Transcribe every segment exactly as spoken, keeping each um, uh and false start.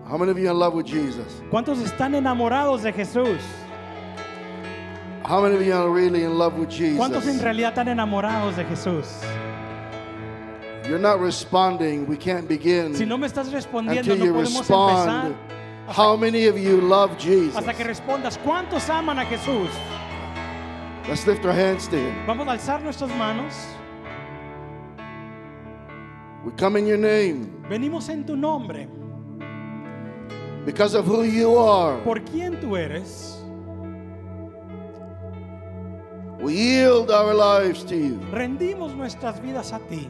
How many of you are in love with Jesus? ¿Cuántos están enamorados de Jesús? How many of you are really in love with ¿Cuántos en Jesus? realidad están enamorados de Jesús? You're not responding. We can't begin Si no me estás respondiendo, until no you podemos empezar respond. How many of you love Jesus? hasta que respondas. ¿Cuántos aman a Jesús? Let's lift our hands to Him. Vamos a alzar nuestras manos. We come in your name Venimos en tu nombre, because of who you are. por quién tú eres. We yield our lives to you. Rendimos nuestras vidas a ti.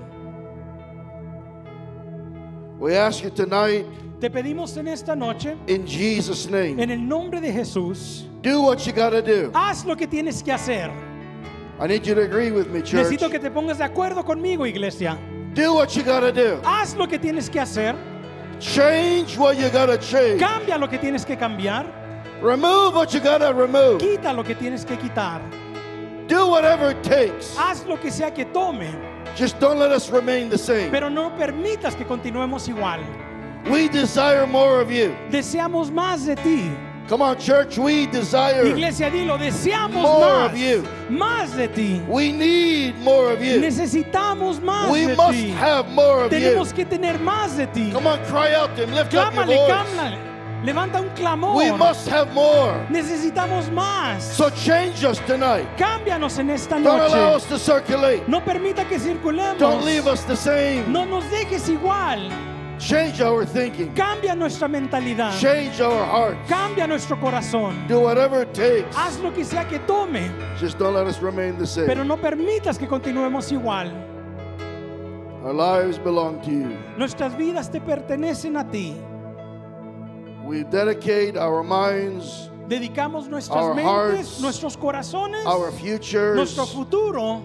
We ask you tonight, Te pedimos en esta noche, in Jesus' name, en el nombre de Jesús, do what you got to do. haz lo que tienes que hacer. I need you to agree with me, church. Necesito que te pongas de acuerdo conmigo, iglesia. Do what you got to do. Haz lo que tienes que hacer. Change what you got to change. Cambia lo que tienes que cambiar. Remove what you got to remove. Quita lo que tienes que quitar. Do whatever it takes. Haz lo que sea que tome, Just don't let us remain the same. pero no permitas que continuemos igual. We desire more of you. Deseamos más de ti. Come on, church. We desire. Iglesia, dilo, deseamos More más. of you. Más de ti. We need more of you. Necesitamos más We de must ti. have more of you. Tenemos que tener más de ti. Come on, cry out to Him. Lift up your Clámale, voice. clámale. Levanta un clamor. We must have more. Necesitamos más. So change us tonight. Cámbianos en esta Don't allow noche. us to circulate. No permita que circulemos. Don't leave us the same. No nos dejes igual. Change our thinking. Cambia nuestra mentalidad. Change our hearts. Cambia nuestro corazón. Do whatever it takes. Haz lo que sea que tome, Just don't let us remain the same. pero no permitas que continuemos igual. Our lives belong to you. Nuestras vidas te pertenecen a ti. We dedicate our minds, Dedicamos nuestras Our mentes, hearts, nuestros corazones, our futures, nuestro futuro,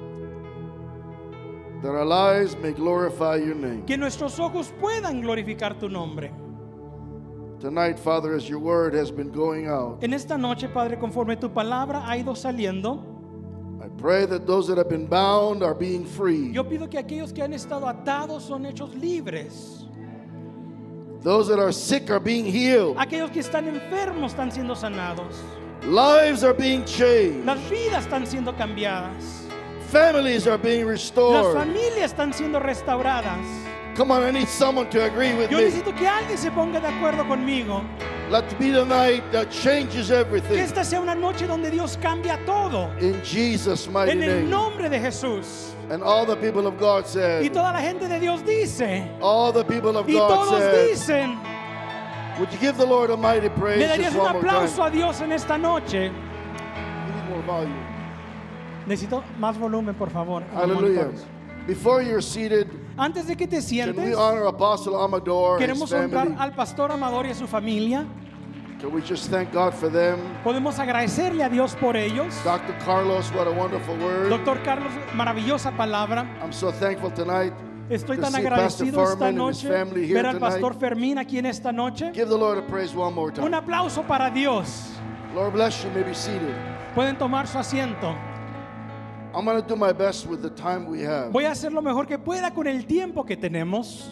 that our lives may glorify your name. que nuestros ojos puedan glorificar tu nombre. Tonight, Father, as your word has been going out, En esta noche, Padre, conforme tu palabra ha ido saliendo, I pray that those that have been bound are being free. yo pido que aquellos que han estado atados son hechos libres. Those that are sick are being healed. Aquellos que están enfermos están siendo sanados. Lives are being changed. Las vidas están siendo cambiadas. Families are being Las restored. familias están siendo restauradas. Come on, I need someone to agree with Yo me. necesito que alguien se ponga de acuerdo conmigo. Let it be the night that changes Que everything. esta sea una noche donde Dios cambia todo. In Jesus' mighty En el name. nombre de Jesús. And all the people of God Y said, toda la gente de Dios dice. all the people of Y God todos said, dicen. would you give the Lord a mighty praise ¿Le just darías un one more time? aplauso a Dios en esta noche? We need more volume. Necesito más volumen, por favor. Hallelujah. Before you're seated, Antes de que te can we sientes, honor Apostle Amador and his queremos honrar family? al pastor Amador y a su familia. Can we just thank God for them? Podemos agradecerle a Dios por ellos. Doctor Carlos, what a wonderful word. Doctor Carlos, maravillosa palabra. I'm so thankful tonight Estoy to tan see Pastor agradecido esta Furman and his noche family here ver al pastor tonight. Fermín aquí en esta noche. Give the Lord a praise one more Un time. aplauso para Dios. Lord bless you. You may be seated. Pueden tomar su asiento. I'm going to do my best with the time we have. Voy a hacer lo mejor que pueda con el tiempo que tenemos.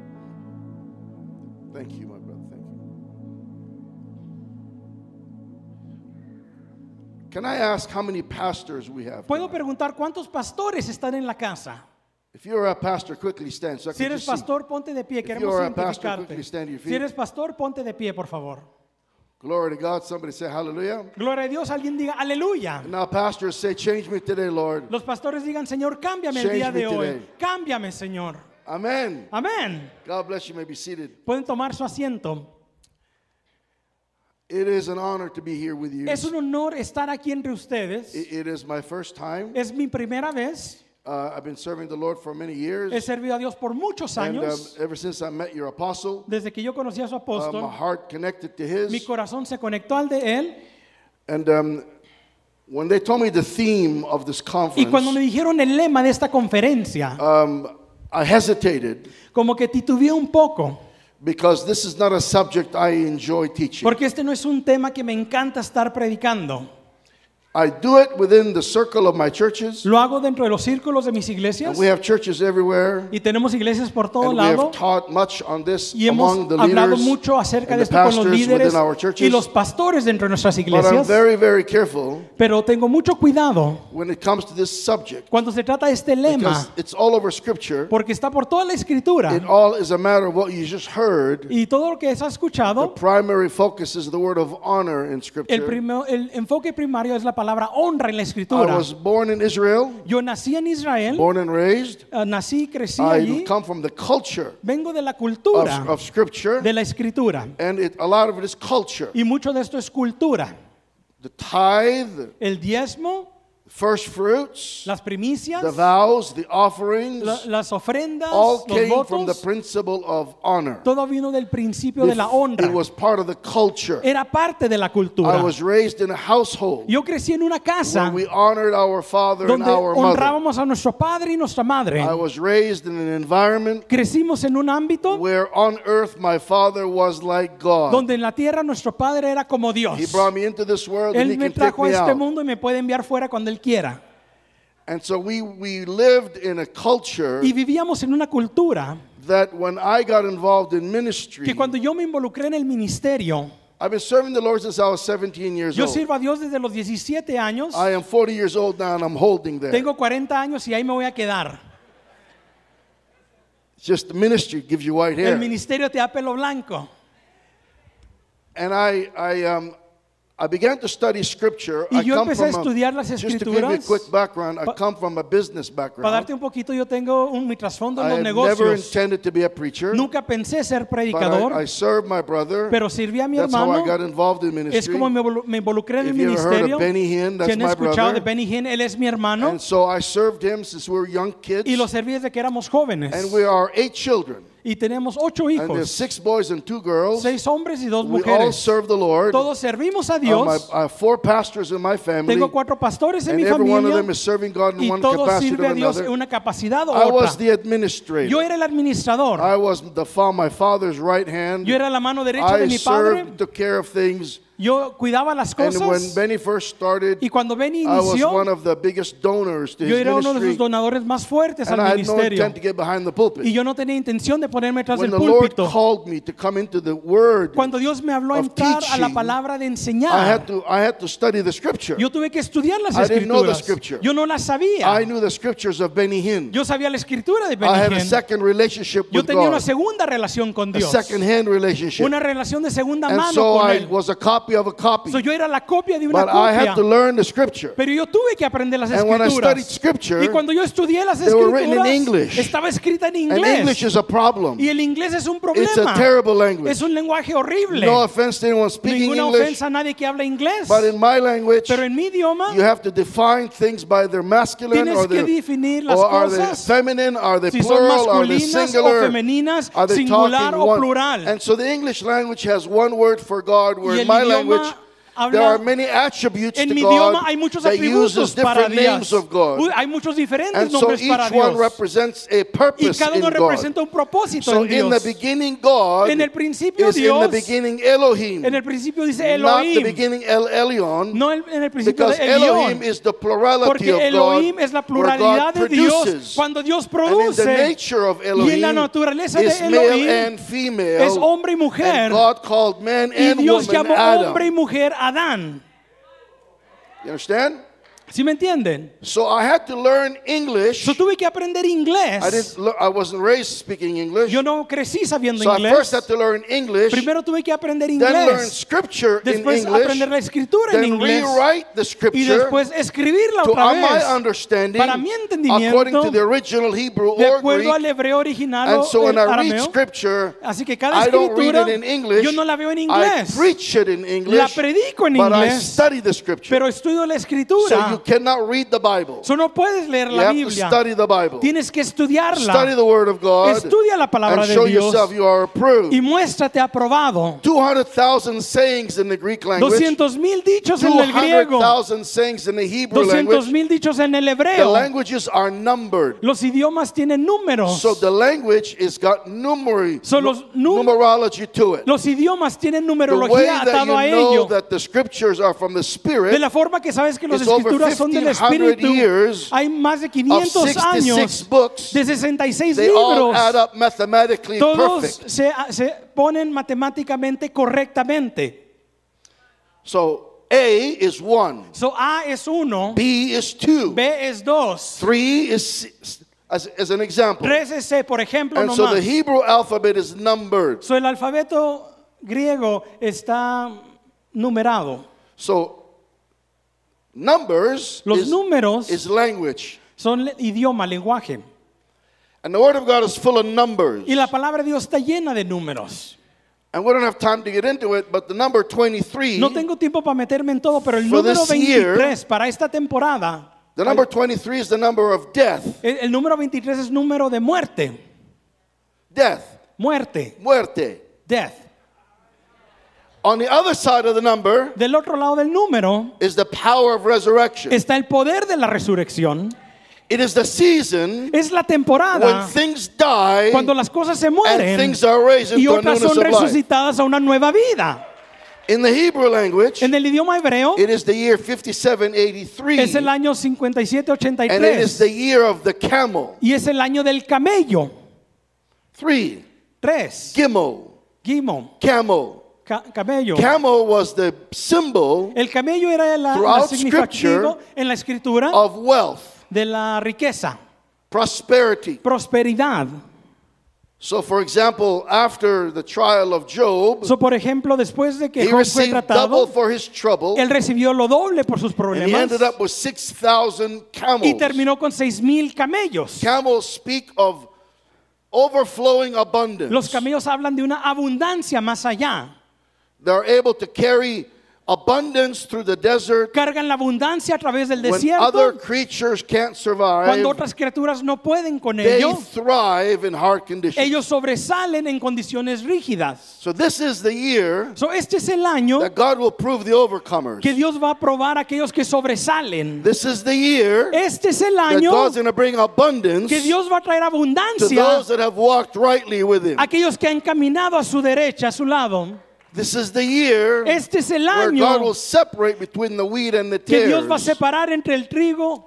Thank you, my brother. Thank you. Can I ask how many pastors we have? Puedo preguntar cuántos pastores están en la casa. If you're a pastor, quickly stand so I Si can eres just see. pastor, ponte de pie. If Queremos you are a pastor, identificarte. quickly stand to your Si feet. eres pastor, ponte de pie, por favor. Glory to God. Somebody say hallelujah. Gloria a Dios. Alguien diga aleluya. And now pastors say, change me today, Lord. Los pastores digan, Señor, cámbiame el Change día me de hoy. today. Cámbiame, Señor. Amen. Amén. God bless you. You may be seated. Pueden tomar su asiento. It is an honor to be here with you. Es un honor estar aquí entre ustedes. It, it is my first time. Es mi primera vez. Uh, I've been serving the Lord for many years. He servido a Dios por muchos And um, años. ever since I met your apostle, Desde que yo conocí a su uh, my apóstol, heart connected to mi his. corazón se conectó al de él. And um, when they told me the theme of this Y cuando me conference, dijeron el lema de esta conferencia, um, I hesitated como que titubeé un poco. because this is not a subject I enjoy teaching. Porque este no es un tema que me encanta estar predicando. I do it within the circle of my churches. Lo hago dentro de los círculos de mis iglesias. And we have churches everywhere. Y tenemos iglesias por todo And we lado. have taught much on this Y hemos among the hablado leaders mucho acerca and de the esto con los pastors líderes within our y churches. los pastores dentro de nuestras But I'm iglesias. very, very careful Pero tengo mucho cuidado when it comes to this subject. cuando se trata de este lema, Because it's all over Scripture. porque está por toda la escritura. It all is a matter of what you just heard. Y todo lo que has The escuchado, primary focus is the word of honor in el, Scripture. primero, el enfoque primario es la palabra honra en la I escritura. was born in Israel, Yo nací en Israel, born and raised. eh, nací y crecí I allí. come from the culture Vengo de la of, cultura of Scripture, de la escritura. and it, a lot of it is culture. Y mucho de esto es cultura. The tithe, El diezmo, first fruits, las primicias, the vows, the offerings, la- las ofrendas, all los came from the votos. principle of honor. Todo vino del principio de la honra. It was part of the culture. Era parte de la I cultura. was raised in a household Yo crecí en una where casa we honored our father and donde our mother. honrábamos a nuestro padre y nuestra madre. I was raised in an environment Crecimos en un ámbito where on earth my father was like God. donde en la tierra nuestro padre era como Dios. He brought me into this world and he Él me can take trajo a me este out. mundo y me puede enviar fuera cuando Él quiera. And so we, we lived in a culture Y vivíamos en una cultura that when I got involved in ministry, que cuando yo me involucré en el ministerio, I've been serving the Lord since I was seventeen years yo old. sirvo a Dios desde los diecisiete años. I am forty years old now and I'm holding there. Tengo cuarenta años y ahí me voy a quedar. Just the ministry gives you white El hair. ministerio te da pelo blanco. And I, I, um, I began to study scripture. Y I yo come empecé a from estudiar las just to give you a escrituras. quick background, I Pa- come from a business Para background. darte un poquito, yo tengo un, mi trasfondo en I los had never negocios. intended to be a preacher, Nunca pensé ser but predicador, I, I served my brother. pero serví a mi That's how I hermano. got involved in Es ministry. como me, involu- me involucré en el If you ever heard ministerio. of Benny Hinn, Si that's han my escuchado de brother. Benny Hinn, él es mi hermano. And so I served him since we were young kids. Y lo serví desde que éramos jóvenes. And we are eight children. Y tenemos ocho And there's hijos. six boys and two girls. Seis hombres y dos We all mujeres. serve the Lord. Todos servimos a Uh, my, Dios. I have four pastors in my family. Tengo cuatro pastores en And mi every one of familia. them is serving God in Y one todos capacity sirven or a Dios en another. una capacidad o I was otra. the administrator. Yo era el administrador. I was the fa- my father's right hand. Yo era la mano derecha de I mi padre. served, took care of things. Yo cuidaba las And when cosas. Benny first started, Y cuando Benny I was one inició, of the biggest donors to yo his era uno de sus ministry. donadores más fuertes And al I had no ministerio. intent to get behind the pulpit. Y yo no tenía intención de ponerme tras When del the Lord púlpito. called me to come into the Word, Cuando Dios me habló a of entrar a la teaching, palabra de I enseñar, had to I had to study the Scripture. yo tuve que estudiar las I didn't know the escrituras. scripture. Yo no las sabía. I knew the Scriptures of Benny Hinn. Yo sabía la escritura de I had a Benny Hinn. second relationship Yo with tenía una God, segunda relación con a Dios. second-hand relationship. Una relación de segunda And mano so con I Él. was a copy of a copy. So, yo era la copia de una But I had to copia. learn the Scripture. Pero yo tuve que aprender las And when I studied escrituras. Scripture, Y cuando yo estudié las they were written in escrituras, English. estaba escrita en And English inglés. is a problem. Y el inglés es un It's a problema. terrible language. Es un lenguaje horrible. No offense to anyone speaking Ninguna English, ofensa a nadie que habla inglés. but in my language, Pero en mi idioma you have to define things by their masculine tienes or que their definir las or are they cosas. feminine, are they Si son plural, are they masculinas o singular, femeninas, are they singular talking o one? plural. And so the English language has one word for God, where Y in el my idioma language habla- there are many attributes En to mi God idioma hay muchos that uses atributos para different Dios. names of God. Uy, hay muchos diferentes And so nombres each para one Dios. represents a Y purpose cada in uno God. representa un propósito So en in the Dios. beginning, God En el principio is in the Dios, beginning Elohim, en el principio dice not the Elohim. beginning El Elyon, No el- en el principio because de Elohim Elión. is the plurality Porque of Elohim God, es la where God pluralidad de Dios. produces. Cuando Dios And in the produce. nature of Y en la Elohim naturaleza is de male Elohim and female, es hombre y mujer. and God called man Y and Dios woman llamó Adam. hombre y mujer Adán. You understand? ¿Sí me entienden? So I had to learn English. Yo tuve que aprender inglés. I didn't. lear- I wasn't raised speaking English. Yo no crecí sabiendo So I inglés. first had to learn English, Primero tuve que aprender then learn inglés. scripture in Después English, aprender la escritura en then inglés. rewrite the Y scripture después escribirla to otra my vez. understanding, Para mi entendimiento, according to the original Hebrew De or acuerdo al Greek. hebreo original And o so when el I read arameo. scripture, Así que cada I don't read escritura it in English. yo no la veo en I inglés. preach it in La English, predico en but I inglés. study the scripture. Pero estudio la escritura. So You cannot read the Bible. So no puedes leer You la have to Biblia. study the Bible. Tienes que Study estudiarla. the Word of God Estudia la palabra and de show Dios yourself you are approved. y muéstrate aprobado. two hundred thousand sayings in the Greek language. Doscientos mil dichos en two el hundred griego. thousand sayings in the Hebrew Doscientos language. mil dichos en el The hebreo. languages are numbered. Los idiomas tienen números. So the language is got numeri- So los num- numerology to it. Los idiomas tienen The way numerología that atado a you know ello. that the scriptures are from the De Spirit la forma que sabes que las It's over escrituras son del fifteen hundred Espíritu, years hay más de of quinientos sixty-six años books, de sesenta y seis they all libros. add up mathematically Todos perfect. se, se ponen matemáticamente correctamente. So A is one, So A es uno, B is two, B es dos, three is six, as, as an example. tres es C, por ejemplo, And no so the más. Hebrew alphabet is numbered. So el alfabeto griego está numerado. So numbers Los is, números is language. son le- idioma, lenguaje. And the Word of God is full of numbers. Y la palabra de Dios está llena de números. And we don't have time to get into it, but the number twenty-three, No tengo tiempo para meterme en todo, pero el For número this year, veintitrés para esta temporada, the number twenty-three is the number of death. el, el número veintitrés es número de muerte. Death. Muerte. Muerte. Death. On the other side of the number Del otro lado del número is the power of resurrection. está el poder de la resurrección. It is the season Es la when temporada things die cuando las cosas se and mueren things are raised y into a otras newness son of life. resucitadas a una nueva vida. In the Hebrew language, En el idioma hebreo it is the year fifty-seven eighty-three, es el año cincuenta y siete ochenta y and it is tres the year of the camel. y es el año del camello. Three, Tres. Gimel, Gimo. camel. Ca- camello. Camel was the symbol El camello era la, la Throughout significativo en la escritura of wealth, de la riqueza, prosperity. prosperidad. So, for example, after the trial of Job, So, por ejemplo, después de que he Job fue received double tratado, for his trouble, él recibió lo doble por sus and he problemas ended up with six thousand y camels. terminó con seis mil camellos. Camels speak of overflowing abundance. Los camellos hablan de una abundancia más allá. They're able to carry abundance through the desert Cargan la abundancia a través del when other desierto. creatures can't survive. Cuando otras criaturas no pueden con They ello, thrive in hard conditions. ellos sobresalen en condiciones rígidas. So this is the year So, este es el año that God will prove the overcomers. que Dios va a probar a aquellos que sobresalen. This is the year Este es el that año God's going to bring abundance que Dios va a traer to abundancia those that have walked rightly with Him. a aquellos que han caminado a su derecha, a su lado. This is the year Este es el where God año will separate between the wheat and the que Dios va a tares. separar entre el trigo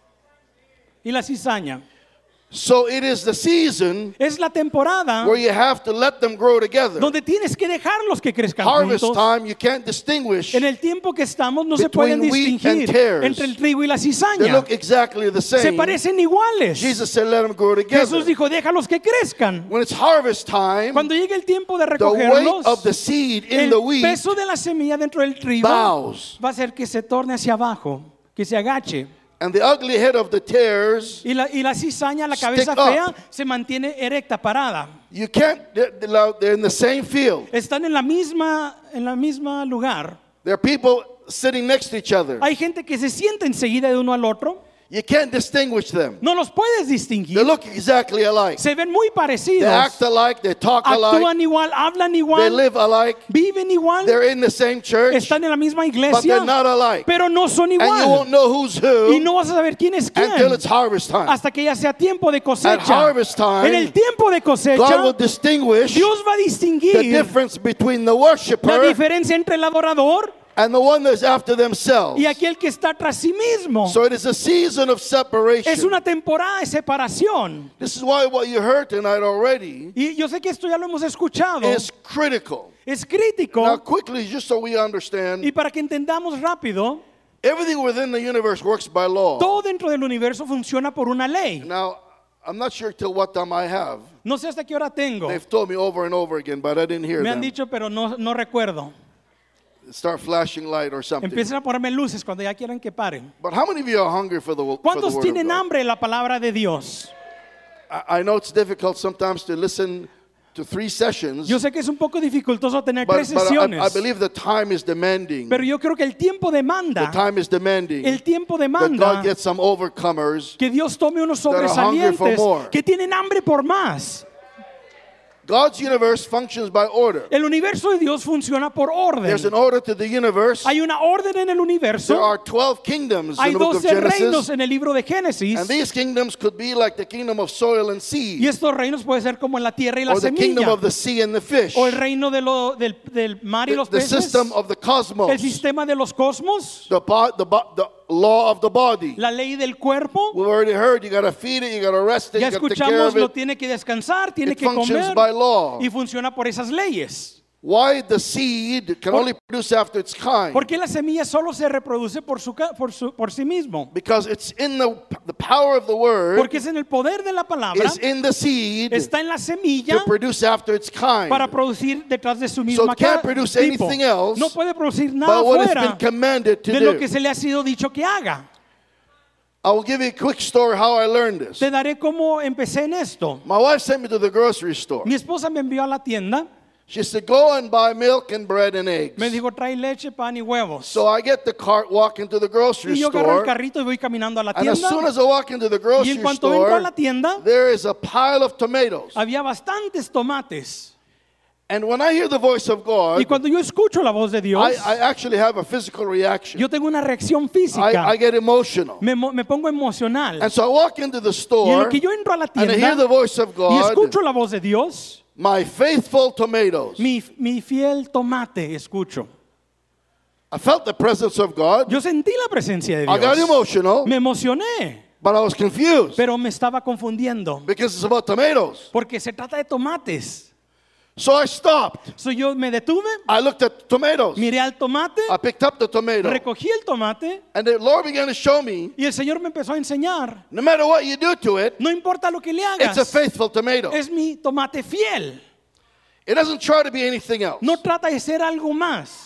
y la cizaña. So it is the season Es la temporada where you have to let them grow together. donde tienes que dejarlos que crezcan Harvest juntos. time, you can't distinguish. En el tiempo que estamos no se Between pueden wheat and distinguir tares. entre el trigo y la They cizaña. look exactly the Se same. parecen iguales. Jesus said, let them grow together. Jesús dijo, déjalos que crezcan. When it's harvest time, Cuando llegue el tiempo de the weight recogerlos, of the seed in el the wheat peso de la semilla dentro del trigo bows, va a hacer que se torne hacia abajo, que se agache. and the ugly head of the tares, Y la, y la cizaña, la cabeza Stick up. fea, se mantiene erecta, parada. you can't, they're, they're in the same field. Están en la misma, en la misma lugar. There are people sitting next to each other. Hay gente que se sienta enseguida de uno al otro. You can't distinguish them. No los puedes They distinguir. look exactly alike. Se ven muy They parecidos. act alike, they talk alike, Actúan igual, hablan they igual, live alike, viven igual, they're in the same church, están en la misma but iglesia, they're not alike. pero no son And you igual. won't know who's Y who no vas a saber quién es until quién it's harvest time. hasta que ya sea tiempo de At cosecha. harvest time, En el tiempo de God will cosecha, distinguish Dios va a the distinguir difference between the la worshiper diferencia entre el adorador and the one that's after themselves. y aquel que está tras sí mismo. So it is a season of Es separation. una temporada de separación. This is why what you heard tonight already Y yo sé que esto ya lo hemos escuchado. is critical. Es crítico. Now, quickly, just so we understand, Y para que entendamos rápido, everything within the universe works by law. todo dentro del universo funciona por una ley. Now, I'm not sure till what time I have. No sé hasta qué hora tengo. They've told me over and over again, but I didn't hear Me han them. dicho, pero no, no recuerdo. Start flashing light or something. Empiezan a ponerme luces cuando ya quieran que paren. But how many of you are hungry for the, for the ¿Cuántos word of tienen God? hambre de la palabra de Dios? I, I know it's difficult sometimes to listen to three sessions. Yo sé que es un poco dificultoso tener But, tres but I, I sesiones, believe the time is demanding. pero yo creo que el tiempo The demanda, time is demanding el tiempo that demanda God gets some overcomers. que Dios tome unos are hungry for sobresalientes more. que tienen hambre por más. God's universe functions by order. El universo de Dios funciona por orden. There's an order to the universe. Hay una orden en el There universo. are twelve kingdoms Hay in the book of doce reinos Genesis. en el libro de Génesis. And these kingdoms could be like the kingdom of soil and Y seed, estos reinos pueden ser como en la tierra y la or the kingdom semilla. of the sea and the fish, O el reino de lo, del, del mar y the, los the peces. system of the El cosmos, sistema de los cosmos. the, bo- the, bo- the law of the body. La ley del cuerpo. We've already heard you got to feed it, you got to rest it, Ya you got to take care escuchamos, of lo it. tiene que descansar, tiene It que functions comer. by law. Y funciona por esas leyes. Why the seed can Por- only produce after its kind? ¿Por qué la semilla solo se reproduce por, su, ca- por, su- por sí mismo? Because it's in the, the power of the word, Porque es en el poder de la palabra, is in the seed está en la semilla to produce after its kind. para producir detrás de su So misma it can't ca- produce tipo. anything else No puede producir nada but what it's been fuera commanded to de lo do. que se le ha sido dicho que haga. I will give you a quick story how I learned this. Te daré cómo empecé en esto. My wife sent me to the grocery store. Mi esposa me envió a la tienda. She said, go and buy milk and bread and eggs. Me dijo, trae leche, pan y huevos. So I get the cart, walk into the grocery Y yo agarro el store, carrito y voy caminando a la and as soon tienda. as I walk into the Y grocery en cuanto entro a store, la tienda, there is a pile of tomatoes. había bastantes tomates. And when I hear the voice of God, Y cuando yo escucho la voz de Dios, I, I actually have a physical reaction. yo tengo una reacción I, física. I get emotional. Me, mo- me pongo emocional. And so I walk into the Y en store, lo que yo entro a la and I hear tienda the voice of y God, escucho la voz de Dios, my faithful tomatoes. mi, mi fiel tomate escucho. I felt the presence of God. Yo sentí la presencia de I got Dios. emotional, Me emocioné, but I was confused pero me estaba confundiendo. because it's about tomatoes. Porque se trata de tomates. So I stopped. So yo me detuve, I looked at tomatoes. miré al tomate, I picked up the tomato. recogí el tomate And the Lord began to show me, y el Señor me empezó a enseñar. no matter what you do to it, No importa lo que le it's a hagas, faithful tomato. es mi tomate fiel. It doesn't try to be anything else. No trata de ser algo más.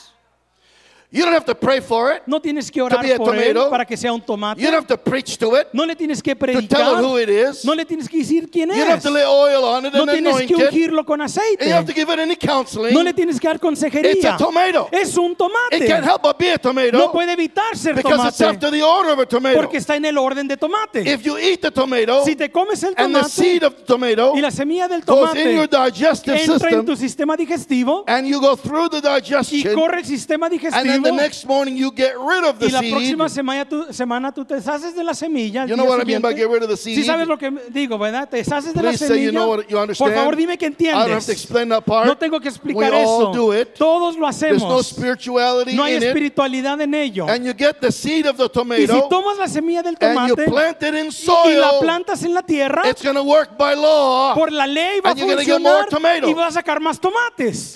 You don't have to pray for it. No tienes que To orar be a por él tomato. para que sea un tomate. You don't have to preach to it No le tienes que to tell predicar. it who it is. No le tienes que decir quién You don't have es. to lay oil on it No and tienes anoint que it. ungirlo con And you have to aceite. give it any counseling. No le tienes que dar It's a consejería. tomato. Es un It can't tomate. help but be a tomato No puede evitar ser because it's tomate after the order of a tomato. porque está en el orden de tomate. If you eat the tomato Si te comes el and the tomate seed of the tomato y la semilla del goes in your tomate digestive entra en system tu sistema digestivo and you go through the y digestion, corre el sistema and then the digestivo next morning you get rid of the y la seed. próxima semana tú, semana tú te deshaces de la semilla. al You know día what I mean by siguiente. get rid of the seed? Sí sabes lo que digo, ¿verdad? Te deshaces de la Please say you semilla. know what you Por understand. favor, dime que I don't have to entiendes. explain that part. No tengo que explicar We all eso. do it. Todos lo There's no hacemos. spirituality No hay in it. espiritualidad en ello. And you get the seed of the Y si tomato tomas la semilla del and you tomate plant it in y la soil, plantas en la tierra, it's going to work by law. por la ley va a and you're gonna get more funcionar tomatoes. y va a sacar más tomates.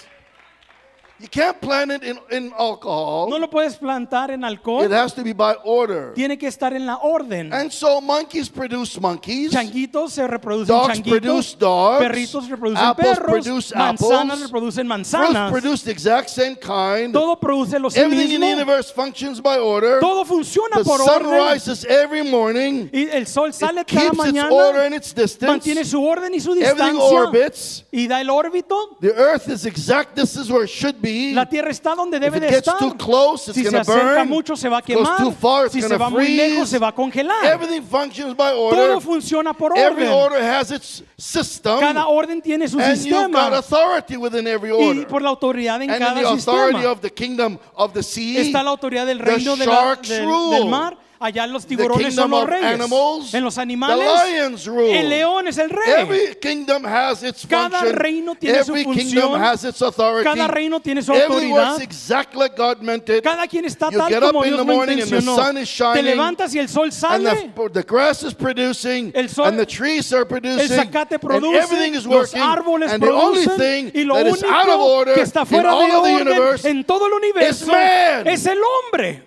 You can't plant it in, in alcohol. No lo puedes plantar en It alcohol. has to be by order. Tiene que estar en la orden. And so monkeys produce monkeys. Changuitos se reproducen Dogs produce changuitos. dogs. Perritos reproducen Apples perros. produce Manzanas apples. reproducen Fruits manzanas. produce the exact same kind. Todo produce lo Everything in the mismo. universe functions by order. Todo funciona The por sun orden. rises every morning. Y el sol sale It cada keeps its mañana. order and its distance. Mantiene su orden y su Everything distancia. orbits. Y da el órbito. The earth is exact. This is where it should be. La tierra está donde If debe it de gets estar. too close, it's Si se going to acerca burn. mucho se va a If it goes quemar. too far, it's Si going se va to muy lejos freeze. se va a congelar. Everything functions by order. Todo funciona por Every orden. order has its system. Cada orden tiene su And you've got sistema. authority within every Y order. por la autoridad en And in cada the authority sistema of the kingdom of the sea, está la autoridad del the reino de la- sharks del, rule. del mar. Allá los The tiburones son kingdom los of reyes. animals, En los the animales, lions rule. el león es el rey. Every kingdom has its Cada function. reino tiene su Every función. kingdom has its authority. Cada reino tiene su Everything autoridad. works exactly like God meant it. Cada quien está You tal get up como in Dios the lo morning and the intencionó. sun is shining, Te levantas y el sol And sale. the, the grass is producing, El sol- and the trees are El producing, zacate and produce, everything is los working. árboles And the only producen thing y lo that is out of único order que está in fuera all de of the orden universe en todo el universo man. es el hombre.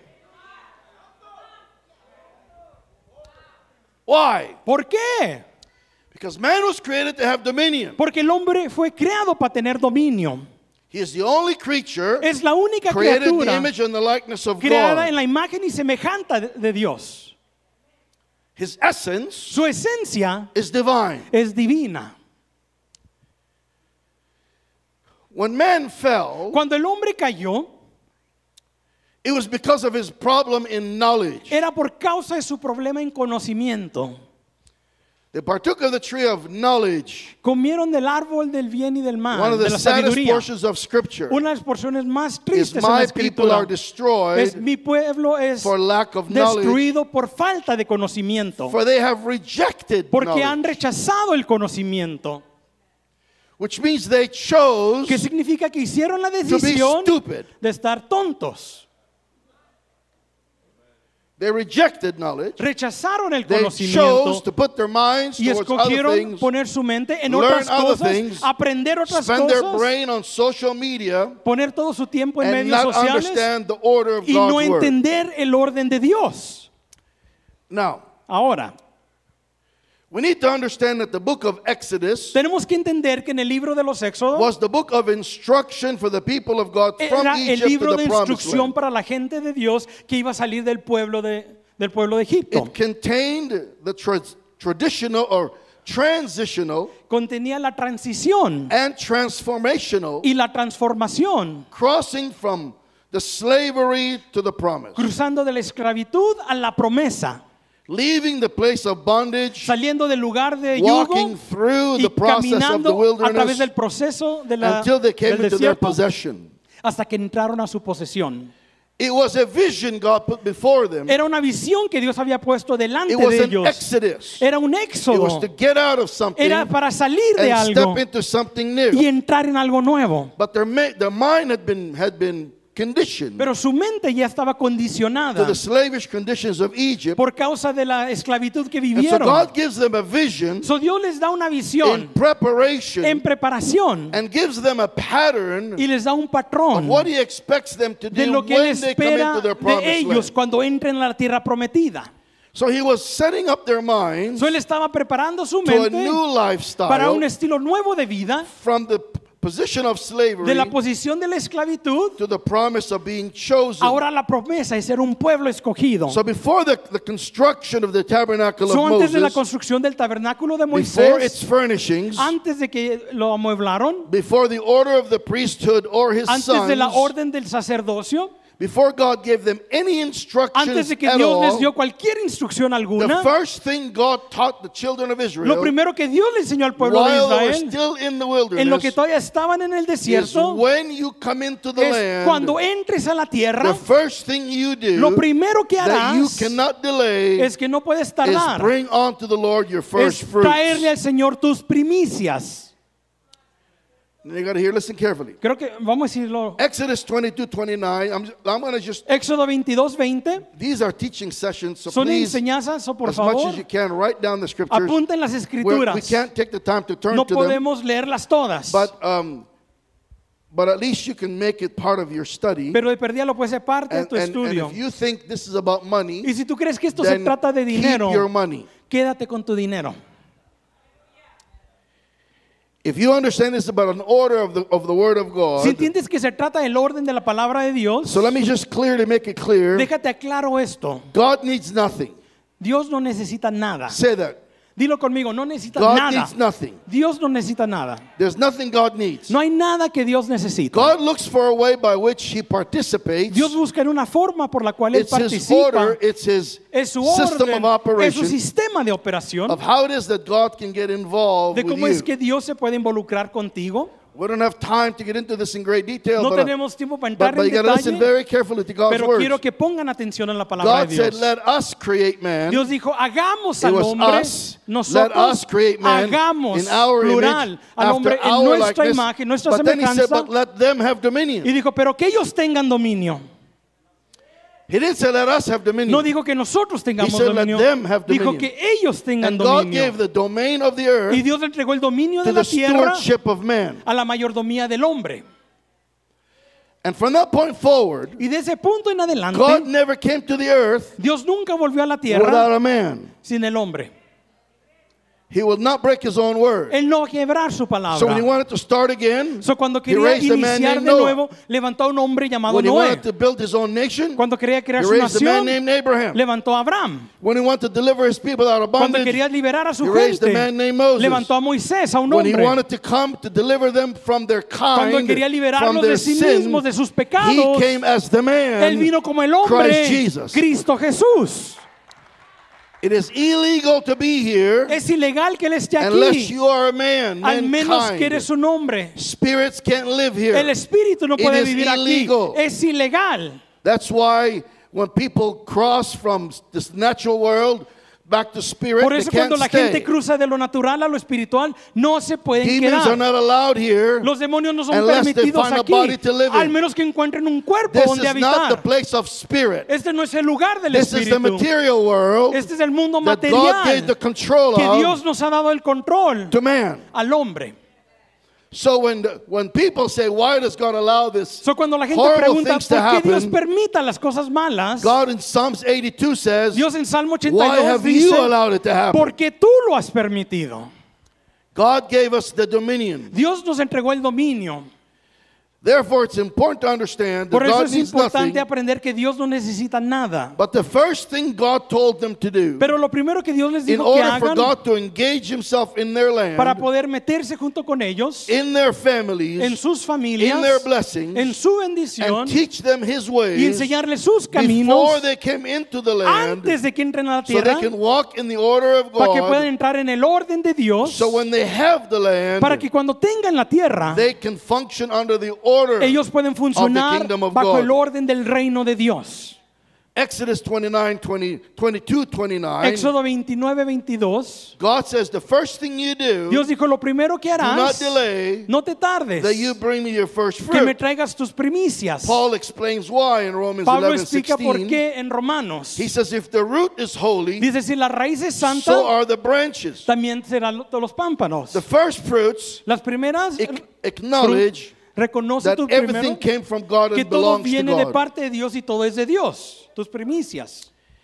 Why? ¿Por qué? Because man was created to have dominion. Porque el hombre fue creado para tener dominio. He is the only creature Es la única created in the criatura image and the likeness of creada en God. la imagen y semejanza de, de Dios. His essence Su esencia is divine. es divina. When man fell, Cuando el hombre cayó, it was because of his problem in knowledge. era por causa de su problema en conocimiento. They partook of the tree of knowledge, Comieron del árbol del bien y del mal, one of de the la saddest sabiduría. portions of Scripture. Una de las porciones más Is tristes en la my people are escritura destroyed es mi pueblo es for lack of knowledge, destruido por falta de conocimiento, for they have rejected porque han knowledge, rechazado el conocimiento, which means they chose que significa que hicieron la to be decisión stupid. de estar tontos. They rejected knowledge. Rechazaron el They conocimiento chose to put their minds y towards other escogieron things, poner su mente en learn otras other cosas, things, aprender otras spend their cosas, brain on social media, poner todo su tiempo en and medios not sociales understand the order of y God's no word. entender el orden de Dios. Now, Ahora, we need to understand that the book of Exodus tenemos que entender que en el libro de los Éxodos was the book of instruction for the people of God from era el Egypt libro to de the promised instrucción land. para la gente de Dios que iba a salir del pueblo de, del pueblo de Egipto. It contained the tra- traditional or transitional Contenía la transición and transformational y la transformación, crossing from the slavery to the promise, cruzando de la esclavitud a la promesa, leaving the place of bondage, saliendo del lugar de yugo walking through y the process of the caminando a través wilderness del proceso de la, until they came del into their desierto possession. hasta que entraron a su posesión. It was a vision God put before them. Era una visión que Dios había puesto delante It was de an ellos. exodus. Era un It was éxodo. to get out of something Era para salir de and algo step into something new. y entrar en algo nuevo. But their, ma- their mind had been, had been conditioned Pero su mente ya estaba to condicionada the slavish conditions of Egypt. por causa de la esclavitud que And so vivieron. God gives them a vision So Dios les da una in visión preparation en preparación and gives them a pattern y les da un of patrón what He expects them to de do lo que when Él they come espera into their de promised ellos land. cuando entren a la tierra prometida. So He was setting up their minds So Él estaba preparando su to a mente new para lifestyle un estilo nuevo de vida, from the p- position of de slavery la posición de la esclavitud, to the promise of being chosen. ahora la promesa es ser un pueblo escogido. So before the, the construction of the tabernacle So of antes de la Moses, construcción del tabernáculo de before its Moisés, furnishings, antes de que lo amueblaron, before the order of the priesthood or his antes de la sons, orden del sacerdocio, before God gave them any instructions antes de que at Dios les all, dio cualquier instrucción the alguna, first thing God taught the children of lo Israel primero que Dios le enseñó al pueblo de while they were Israel, still in the en lo que wilderness todavía estaban en el is desierto, when you come into the es land, cuando entres a la the tierra, first thing you lo do primero que that you harás cannot delay es que no puedes is tardar, bring unto the Lord your first es fruits. traerle al Señor tus primicias. And you got to hear, listen carefully. Creo que vamos a decirlo. Exodus twenty-two, twenty-nine. I'm, I'm going to just, Éxodo veintidós, veinte. these are teaching sessions, so Son please, enseñanzas, o por as much favor, as you can, write down the scriptures. apunten las We're- escrituras. we can't take the time to turn No to them, podemos leerlas todas, but, um, but at least you can make it part of your study. pero de perdida lo puede ser parte de And, tu and, and estudio. if you think this is about money, Y si tú crees que esto se then trata de keep dinero, your money. quédate con tu dinero. If you understand this is about an order of the, of the Word of God, Si entiendes que se trata del orden de la palabra de Dios, so let me just clearly make it clear. déjate claro esto. God needs nothing. Dios no necesita nada. Say that. Dilo conmigo, no necesita God nada. needs nothing. Dios no necesita nada. There's nothing God needs. No hay nada que Dios necesita. God looks for a way by which He participates. Dios busca en una forma por la cual Él It's His participa. order, it's His Es su system orden, of es su operation sistema de operación, of how it is that God can get involved de with cómo es you. que Dios se puede involucrar contigo. We don't have time to get into this in great detail, No but, uh, tenemos tiempo para but, entrar but en you got to listen detalle, very carefully to God's pero words. quiero que pongan atención en la palabra God de said, Dios. let us create man. Dios dijo, hagamos It al was hombre, us. Let nosotros us create man hagamos, in our plural, image, al hombre after en our nuestra likeness. imagen, nuestra But then He said, semejanza. but let them have dominion. Y dijo, pero que ellos tengan dominio. He didn't say let us have dominion. No dijo que nosotros tengamos He said, let dominio. them have Dijo dominion. que ellos tengan And God dominio. gave the domain of the earth Y Dios le entregó el dominio to de la the tierra stewardship of man. a la mayordomía del hombre. And from that point forward, Y de ese punto en adelante, God never came to the earth Dios nunca volvió a la without tierra a man. sin el hombre. He will not break his own word. Él no va a quebrar su So when he palabra. wanted to start again, So, cuando he quería raised a man iniciar named de Noah. nuevo, levantó a un hombre llamado When he Noé. wanted to build his own nation, Cuando quería crear he su raised a man nación, named Abraham. levantó a Abraham. When he wanted to deliver his people out of Cuando bondage, quería liberar a su he raised a gente, man named Moses. levantó a Moisés, a un When he hombre. wanted to come to deliver them from their Cuando kind, quería from liberarlos their de sí sin, mismos, de sus he pecados, came as the man, Él vino como el hombre, Christ Jesus. Cristo Jesús. It is illegal to be here Es ilegal que Él esté unless aquí, you are a man, al menos que mankind. eres un hombre. Spirits can't live here. El espíritu no It puede is vivir illegal. aquí. Es ilegal. That's why when people cross from this natural world back to spirit, Por they eso can't cuando la stay. gente cruza de lo natural a lo espiritual, no se pueden Demons are quedar. not allowed here. Los demonios no son unless they permitidos find a aquí, body to live in. al menos que encuentren un cuerpo This donde is not the habitar. place of spirit. Este no es el lugar del This is the espíritu. material world Este es el mundo that God gave the material control que of Dios nos ha dado el control to man. al hombre. So when the, when people say, why does God allow this So, cuando la gente horrible pregunta things to por qué Dios happen, permita las cosas malas, God in Psalms eighty-two says, Dios en Salmo why ochenta y dos have you dice, allowed it to happen? porque tú lo has permitido. God gave us the dominion. Dios nos entregó el dominio. Therefore, it's important to understand that Por eso God es needs nothing. importante aprender que Dios no necesita nada. But the first thing God told them to do, Pero lo primero que Dios les in dijo que order for hagan God to engage himself in their para land, poder meterse junto con ellos, in their en families, sus in familias, their blessings, en su and bendición teach them his y ways enseñarles sus before caminos they came into the land, antes de que entren a la so they tierra, can walk in the order of para que puedan God. entrar en el orden de Dios, So when they have the land, para que cuando tengan la tierra, they can function under the order. ellos pueden funcionar kingdom of bajo God. el orden del reino de Dios. Exodus twenty-nine, twenty, twenty-two, twenty-nine. Éxodo veintinueve, veintidós. God says the first thing you do, Dios dijo, lo primero que do not harás, delay no te tardes, that you bring me your first que me fruit. traigas tus primicias. Paul explains why in Romans Pablo eleven, explica por sixteen. qué en Romanos. He says if the root is holy, Dice, si la raíz es santa, so are the branches. también serán lo- todos los pámpanos. The first fruits Las primeras ac- acknowledge reconoce that tu everything primero came from God que and todo belongs to viene de God. parte de Dios y todo es de Dios, tus primicias.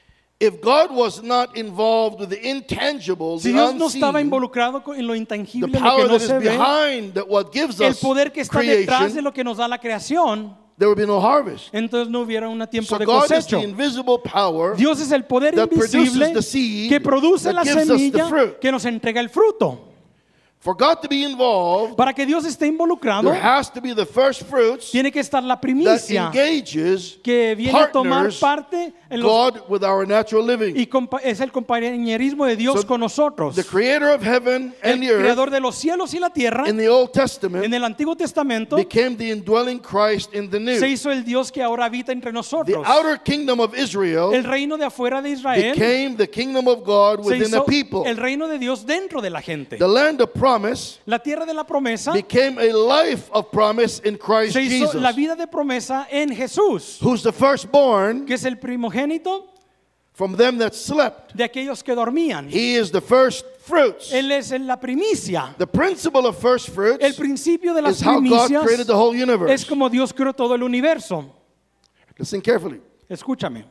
If God was not involved with the intangible, Si the Dios no estaba unseen, involucrado con- en lo the intangible, lo power que no that is se ve, behind that what gives el us poder que está detrás de creation, lo que nos da la creación, there would be no harvest. entonces no hubiera un tiempo So de God is cosecho. the invisible power Dios es el poder that produces invisible the seed que produce that la gives us the semilla fruit. que nos entrega el fruto. For God to be involved, Para que Dios esté involucrado, there has to be the first fruits tiene que estar la that primicia engages que viene a tomar partners parte en los, God with our natural living. y compa- es el compañerismo de Dios So, con nosotros. The creator of heaven El and the earth creador de los cielos y la tierra, in the Old Testament en el Antiguo Testamento, became the indwelling Christ in the New. se hizo el Dios que ahora habita entre The nosotros. outer kingdom of El Israel reino de afuera de Israel became the kingdom of God se within the hizo people. el reino de Dios dentro de la gente. The land of promise La tierra de la promesa became a life of promise in Christ se hizo Jesus, la vida de promesa en Jesús, who's the firstborn que es el primogénito from them that slept. de aquellos que dormían. He is the first fruits. Él es la primicia. The principle of first El fruits principio de las is how God created primicias the whole es universe. como Dios creó todo el universo. Listen carefully. Escúchame.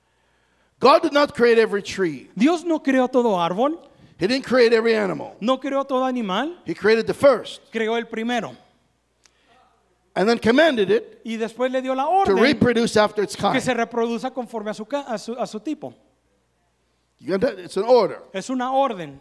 God did not create every tree. Dios no creó todo árbol, He didn't create every animal. no creó todo animal, He created the first creó el primero. and then commanded it Y después le dio la to orden reproduce after its que kind. se reproduzca conforme a su, ca- a su, a su tipo. You got that? It's an order. Es una orden.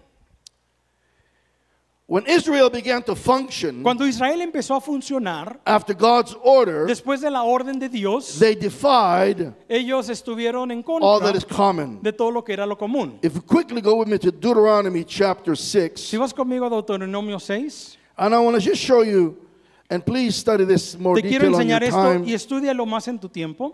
When Israel began to function Cuando Israel empezó a funcionar, after God's order, después de la orden de Dios, they defied ellos estuvieron en all contra that is common. de todo lo que era lo común. If you quickly go with me to Deuteronomy chapter six, Si vas conmigo a Deuteronomio seis, and I want to just show you, and please study this more te quiero detail on your enseñar esto time. y estudialo más en tu tiempo.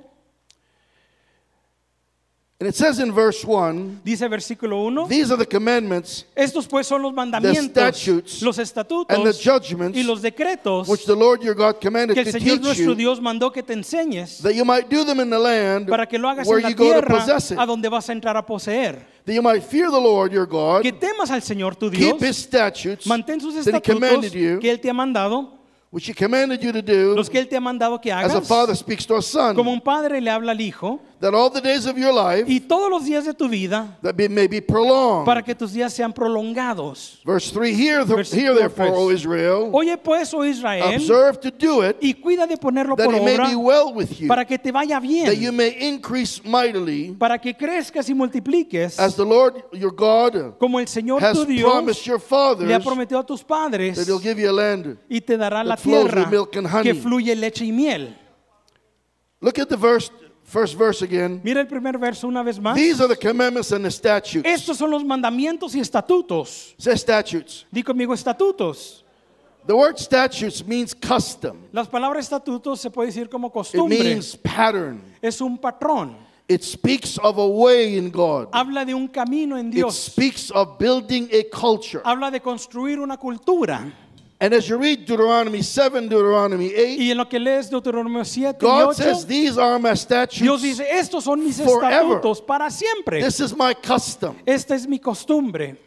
And it says in verse one, Dice versículo uno, these are the commandments estos pues son los mandamientos, statutes los and the estatutos judgments y los decretos which the Lord your God commanded que el to Señor teach nuestro you, Dios mandó que te enseñes that you might do them in the land para que lo hagas where en la you go to tierra possess it, a donde vas a entrar a poseer. that you might fear the Lord your God, Que temas al Señor tu keep Dios, his statutes mantén sus that he commanded estatutos you, que Él te ha mandado, which he commanded you to do, los que Él te ha mandado que as a hagas, father speaks to a son, como un padre le habla al hijo, that all the days of your life y todos los días de tu vida that be, may be prolonged. para que tus días sean prolongados. Verse three, hear, the, Versículo hear therefore, tres. O Israel, Oye pues, oh Israel, observe to do it, y cuida de ponerlo that por it may obra be well with you, para que te vaya that you bien, may increase mightily, para que crezcas y multipliques, as the Lord your God como el Señor has tu promised Dios your fathers, le ha prometido a tus padres, that He'll give you a land. y te dará la that flows with tierra milk and honey. que fluye leche y miel. Look at the verse, first verse again. Mira el primer verso una vez más. These are the commandments and the statutes. Estos son los mandamientos y estatutos. Say statutes. Di conmigo estatutos. The word statutes means custom. Las palabras estatutos se puede decir como It costumbre. means pattern. Es un patrón. It speaks of a way in God. Habla de un camino en It Dios. speaks of building a culture. Habla de construir una cultura. And as you read Deuteronomy seven, Deuteronomy eight, Y en lo que lees Deuteronomio siete y God ocho, says, these are my Dios statutes. dice, estos son mis forever. estatutos para siempre. This is my custom. Esta es mi costumbre.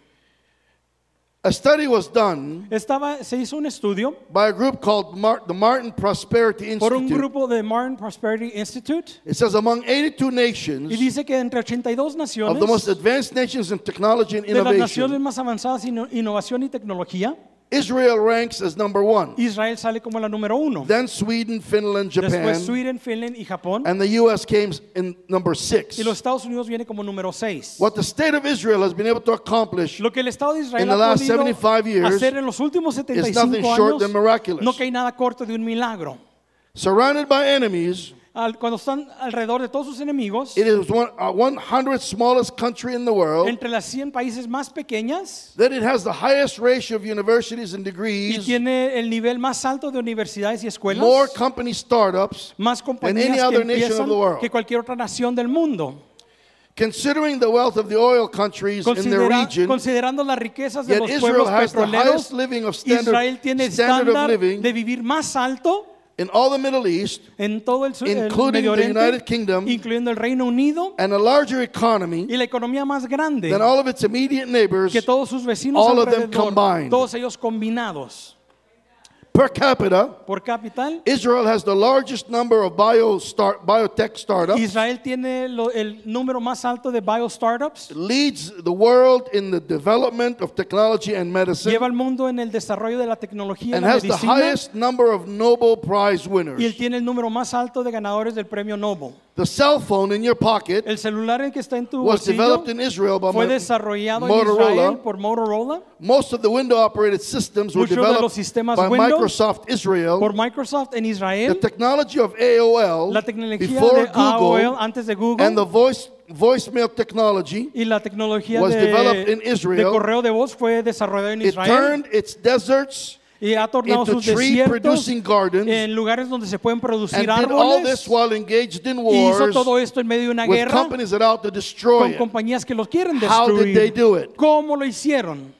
A study was done Estaba, se hizo un estudio by a group called Mar- the Martin Prosperity por un Institute. grupo de Martin Prosperity Institute It says among eighty-two y nations, dice que entre ochenta y dos of the most naciones, advanced nations in technology and de las naciones innovation, más avanzadas en innovación y tecnología, Israel ranks as number one. Israel sale como la número uno. Then Sweden, Finland, Después Japan, Sweden, Finland y Japón. and the U S came in number six. Y los Estados Unidos viene como número seis. What the state of Israel has been able to accomplish Lo que el Estado de Israel in the ha last podido seventy-five years hacer en los últimos setenta y is nothing cinco short than años, miraculous. no que hay nada corto de un milagro. Surrounded by enemies, Al- cuando están alrededor de todos sus enemigos, it is one uh, one hundredth smallest country in the world. entre las cien países más pequeñas, That it has the highest ratio of universities and y degrees, tiene el nivel más alto de universidades y escuelas, more company startups, más any compañías que other nation of empiezan the world. que cualquier otra nación del mundo. considering the wealth of the oil countries in the Considera- region. considerando las riquezas de Yet los Israel pueblos has the petroleros, highest living of standard- Israel tiene el standard of estándar living de vivir más alto in all the Middle East, en todo el, sur, el including Medio the Oriente, United Kingdom, incluyendo el Reino Unido, and a larger economy y la economía más grande than all of its immediate neighbors que todos sus vecinos all of them alrededor, combined. todos ellos combinados. per capita. Por capital, Israel has the largest number of bio start, biotech startups. Israel tiene lo- el número más alto de bio startups. Leads the world in the development of technology and medicine, Lleva al mundo en el desarrollo de la tecnología y and la has the medicina. highest number of Nobel Prize winners. Y él tiene el número más alto de ganadores del premio Nobel. The cell phone in your pocket El celular en que está en tu was bolsillo developed in Israel by fue Mo- desarrollado en Motorola. Israel por Motorola, Most of the window operated systems were Muchos de developed los sistemas by Windows Microsoft Israel. por Microsoft en The Israel, technology of A O L la tecnología before de A O L Google antes de Google and the voice voicemail technology, y la tecnología was de, developed in de Israel. correo de voz fue desarrollada en it Israel turned its deserts y ha tornado into sus desiertos tree-producing gardens en lugares donde se pueden and producir did all this árboles, while engaged in y hizo wars todo esto en medio de una with guerra companies that are out to destroy con it. compañías que los quieren How did they destruir. do it? ¿Cómo lo hicieron?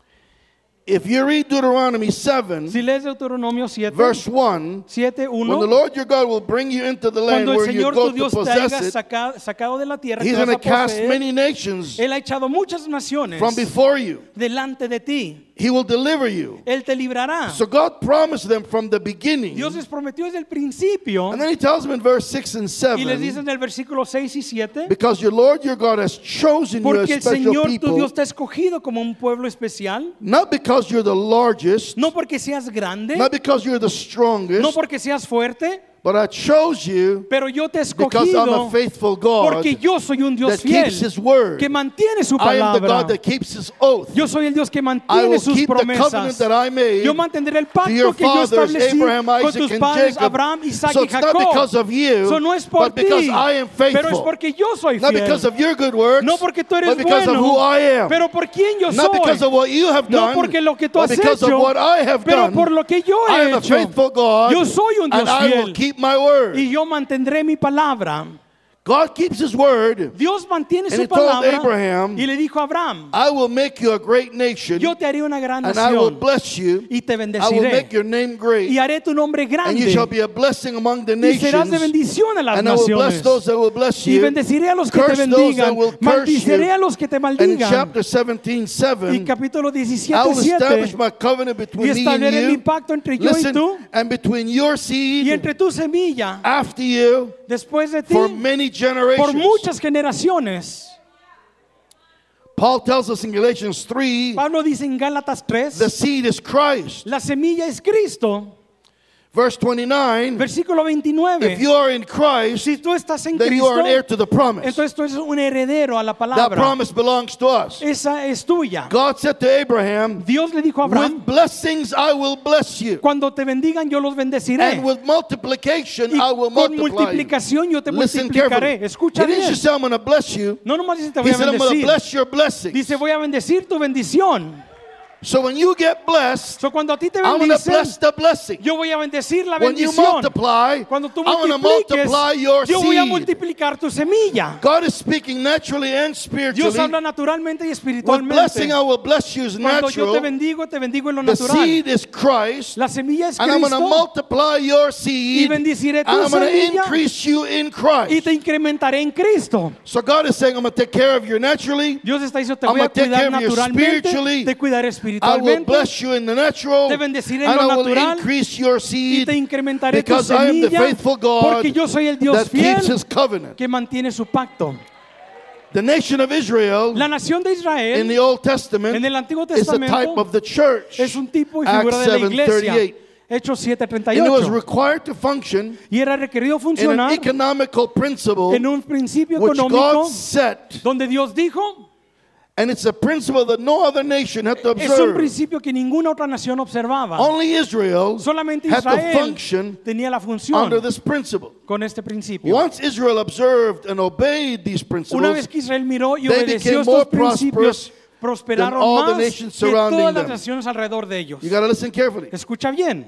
If you read Deuteronomy seven, Si lees Deuteronomio siete, verse one, siete when the uno, Lord your God will bring you into the land cuando el where you Señor go tu to Dios te possess haya it, saca- sacado de la tierra que He's vas going a to cast poseer, many nations Él ha echado muchas naciones from before you. delante de ti. He will deliver you. Él te librará. So God promised them from the beginning. Dios les prometió desde el principio And then he tells them in verse six and y les dice seven, en el versículo seis y siete, because your Lord your God has chosen you porque as el special Señor tu people, Dios te ha escogido como un pueblo especial, not because you're the largest, no porque seas grande, not because you're the no strongest, porque seas fuerte, but I chose you pero yo te he because I'm a escogido faithful God porque yo soy un Dios that fiel keeps his word. que mantiene su I am the God palabra. that keeps his oath. Yo soy el Dios que I mantiene will sus keep the covenant promesas. that I made Yo mantendré el to your pacto que yo fathers, establecí Abraham, con Isaac, tus and padres Jacob. Abraham, Isaac So y it's not Jacob. because of you, So no es por but because ti, I am pero es faithful. porque yo soy Not fiel. because of your good works, No porque tú eres but because of bueno, who I am. pero por quién yo Not because soy. of what you have No done, porque lo que tú but has because hecho, of what I have pero done. por lo que yo I he am a hecho. faithful God, Yo soy un Dios and I will fiel. keep my word. Y yo mantendré mi palabra. God keeps his word. Dios mantiene And su he told palabra Abraham, y le dijo a Abraham, I will make you a great nation, yo te haré una gran and I will nación bless you. y te I will bendeciré make your name great, y haré tu nombre and you grande shall be a blessing among the y serás de nations. bendición a las And I will bless naciones. those that will bless Y you. bendeciré a los que te Curse those that bendigan, will curse maldiciré you. a los que te And in maldigan. chapter seventeen, Y seven, capítulo I diecisiete, will establish siete, my covenant y between me and estableceré mi you. pacto entre yo y Listen, tú and between your y seed entre tu semilla after you después de ti for many generations. por muchas generaciones. Paul tells us in Galatians three, Pablo dice en Gálatas tres, the seed is Christ. la semilla es Cristo. Verse twenty-nine, Versículo veintinueve. if you are in Christ, Si tú estás en then you Cristo, are an heir to the promise. entonces tú eres un heredero a la That palabra. promise belongs to us. Esa es tuya. God said to Abraham, Dios le dijo a Abraham, with blessings I will bless you, cuando te bendigan yo los bendeciré. and with multiplication Y I will con multiply you. multiplicación yo te Listen multiplicaré. carefully. Escucha He didn't bien. just say I'm going to bless you. No nomás dice te voy He a said I'm going to bendecir. bless your blessings. Dice voy a bendecir tu bendición. So when you get blessed, So cuando a ti te I'm going to bendicen, bless the blessing. yo voy a bendecir la When you bendición. multiply, Cuando tú I'm going to multipliques, multiply your yo voy a seed. multiplicar tu semilla. God is speaking naturally and Dios spiritually. habla naturalmente y With espiritualmente. blessing I will bless you is Cuando yo te natural. bendigo, te bendigo en lo The natural. seed is Christ. La semilla es And I'm going to Cristo multiply your y seed. And bendeciré tu I'm going to semilla increase you in y Christ. te incrementaré en Cristo. So God is saying, I'm going to take care of you naturally. Dios está diciendo, te I'm voy a gonna take cuidar care of you naturalmente, spiritually. te cuidaré I will espiritualmente bless you in the natural. Te bendeciré en And lo I will natural increase your y seed. te incrementaré tu Because I am the semilla faithful God porque yo soy el Dios that keeps fiel his covenant. que mantiene su pacto. The nation of Israel La nación de in Israel the Old Testament en el Antiguo is a type Testamento of the church. es un tipo y Acts figura de la seven iglesia. thirty-eight. Hechos siete treinta y And it was ocho. required to function Y era requerido in an funcionar economical principle en un principio which económico God set. donde Dios dijo, And it's a principle that no other nation had to es un observe. principio que ninguna otra nación observaba. Only Israel Solamente had to Israel function tenía la función under this principle. con este principio. Once Israel observed and obeyed these Una vez principles, que Israel miró y they obedeció became more estos principios, prosperous prosperaron than all the más nations que surrounding todas las them. naciones alrededor de ellos. you got to listen carefully. Escucha bien.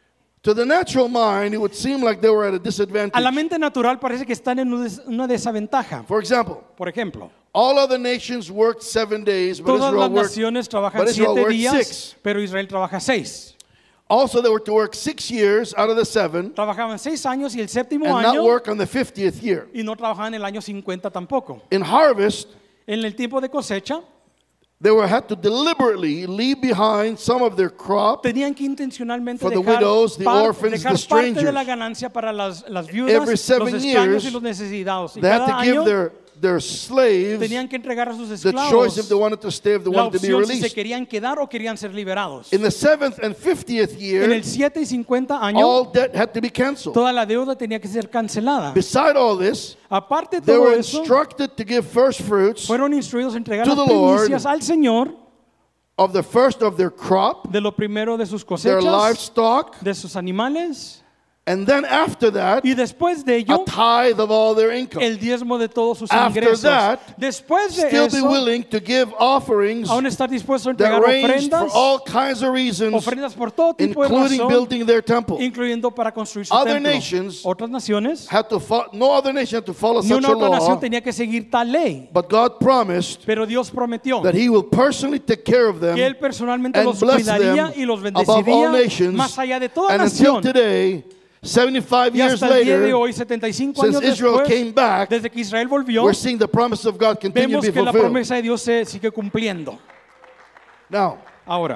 To the natural mind, it would seem like they were at a A la disadvantage. mente natural parece que están en una des- una desventaja. For example, Por ejemplo, all other nations worked seven days, but todas Israel las worked. naciones trabajan but Israel siete worked días, six. pero Israel trabaja seis. Also, they were to work six years out of the seven Trabajaban seis años y el séptimo and not año work on the fiftieth year. y no trabajaban el año cincuenta tampoco. In harvest, En el tiempo de cosecha they were had to deliberately leave behind some of their crop tenían que intencionalmente For the dejar, widows, the par- orphans, dejar the parte de strangers. la ganancia para las, las viudas, Every los seven extraños years, y los necesitados. Y They had cada to give año their, their slaves tenían que entregar a sus the choice if esclavos they wanted to stay, if they la wanted to be opción si se released. querían quedar o querían ser liberados. In the seventh and fiftieth En year, el siete y cincuenta años, all debt had to be canceled. toda la deuda tenía que ser cancelada. Beside all this, Aparte de they todo were eso, instructed to give first fruits fueron instruidos a entregar to las the Lord primicias al Señor of the first of their crop, de lo primero de sus their cosechas, livestock, de sus animales, and then after that, y después de a ello, tithe of all their income. el diezmo de todos sus After ingresos. that, Después de Still be eso, willing to give offerings aún estar dispuesto a that entregar ranged for ofrendas, all kinds of reasons, ofrendas por todo tipo de including razón, building their temple. incluyendo para construir su Other templo. nations Otras naciones, Had to fo- no other nation had to follow ni such una a otra nación law, tenía que seguir tal ley, but God promised pero Dios prometió that He will personally take care of them que Él personalmente and los bless cuidaría them y los above all bendeciría nations. más allá de toda And until nación. today, seventy-five Y years hasta el día de later, hoy, setenta y cinco since años Israel después, came back, desde que Israel volvió, we're seeing the promise of God continue to vemos be que la fulfilled. promesa de Dios se sigue cumpliendo. Now, Ahora,